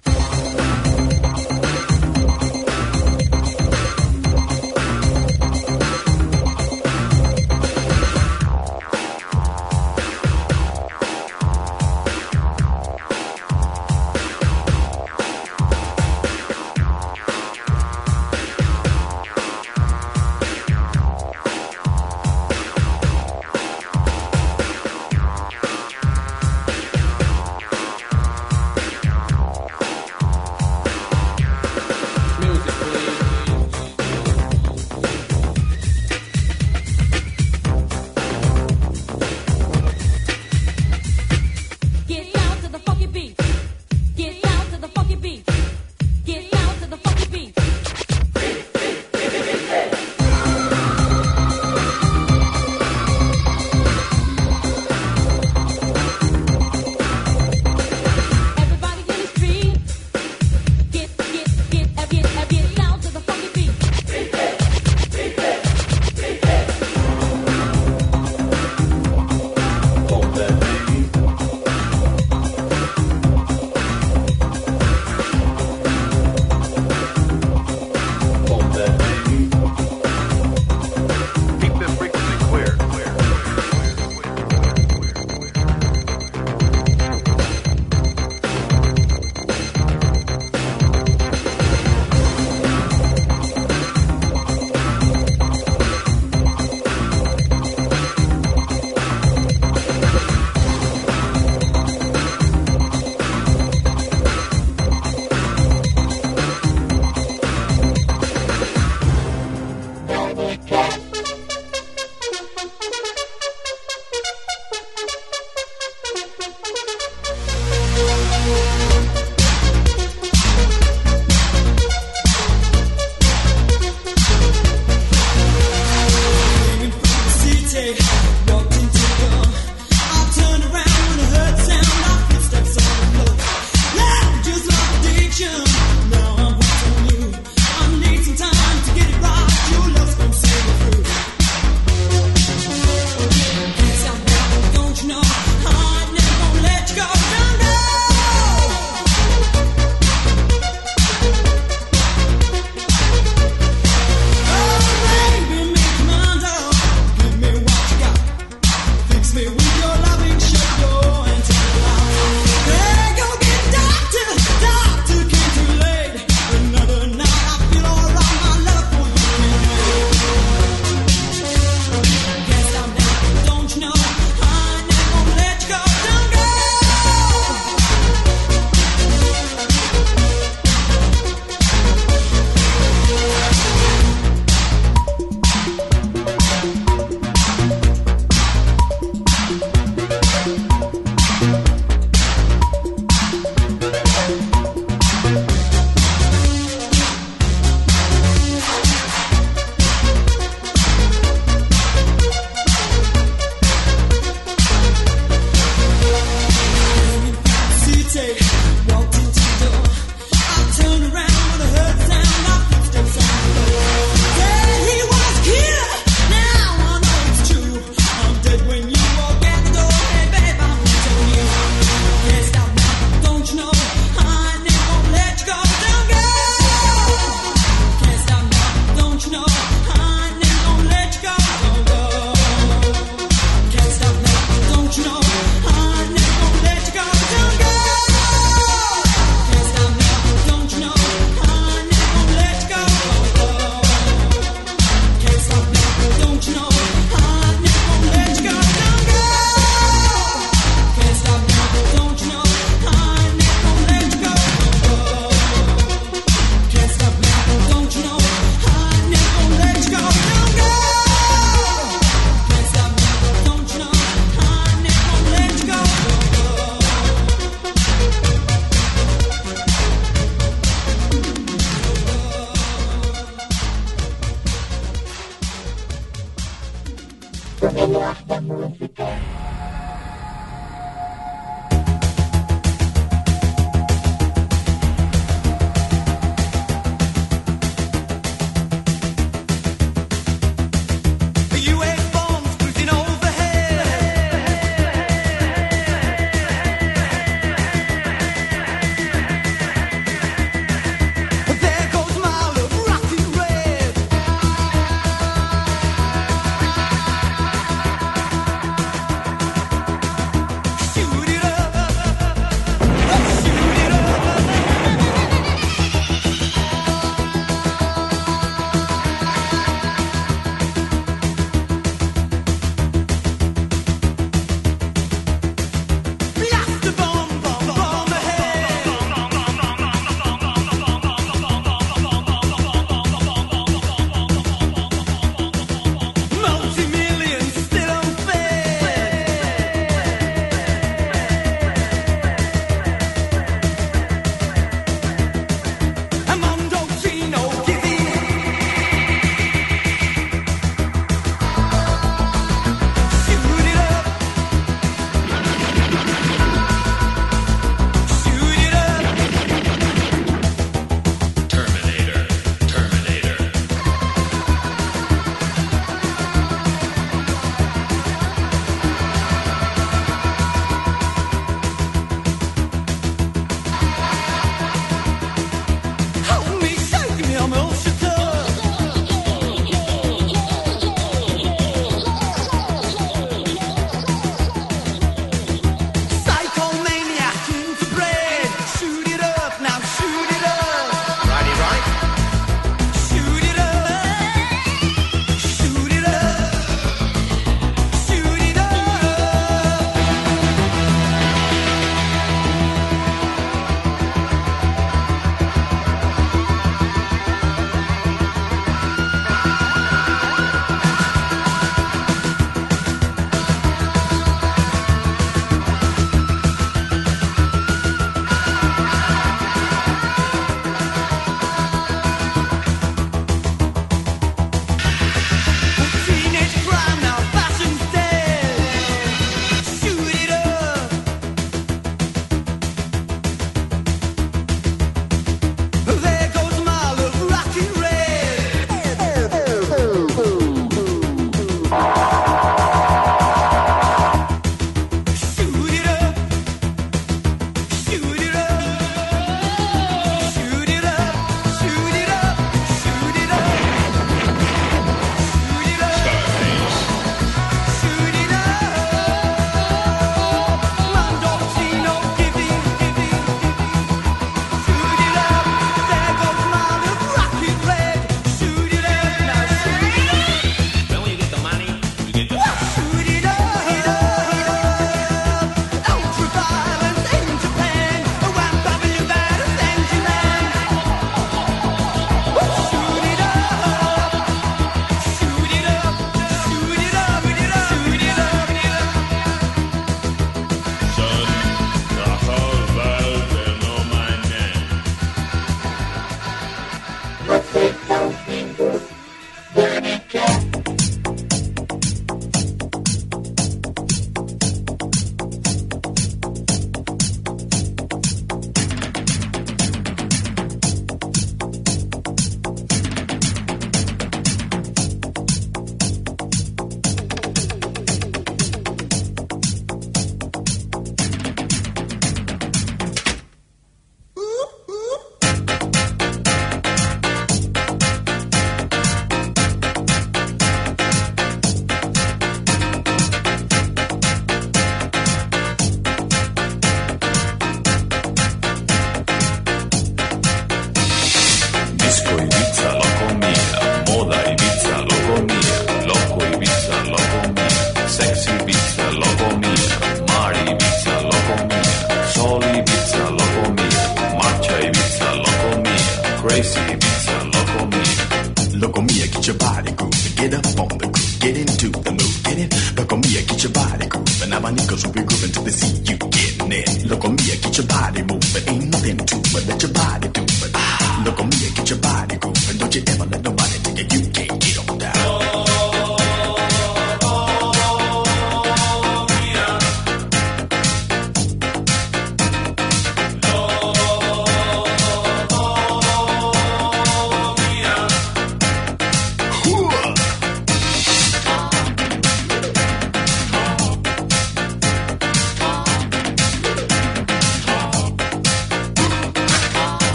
cause we'll be grooving till they see you getting it. Look on me, get your body moving. Ain't nothing to it, let your body do it. Ah, look on me, get your body grooving. Don't you ever let nobody take it, you can't get on down.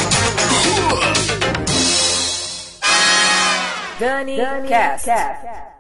Dani Cast.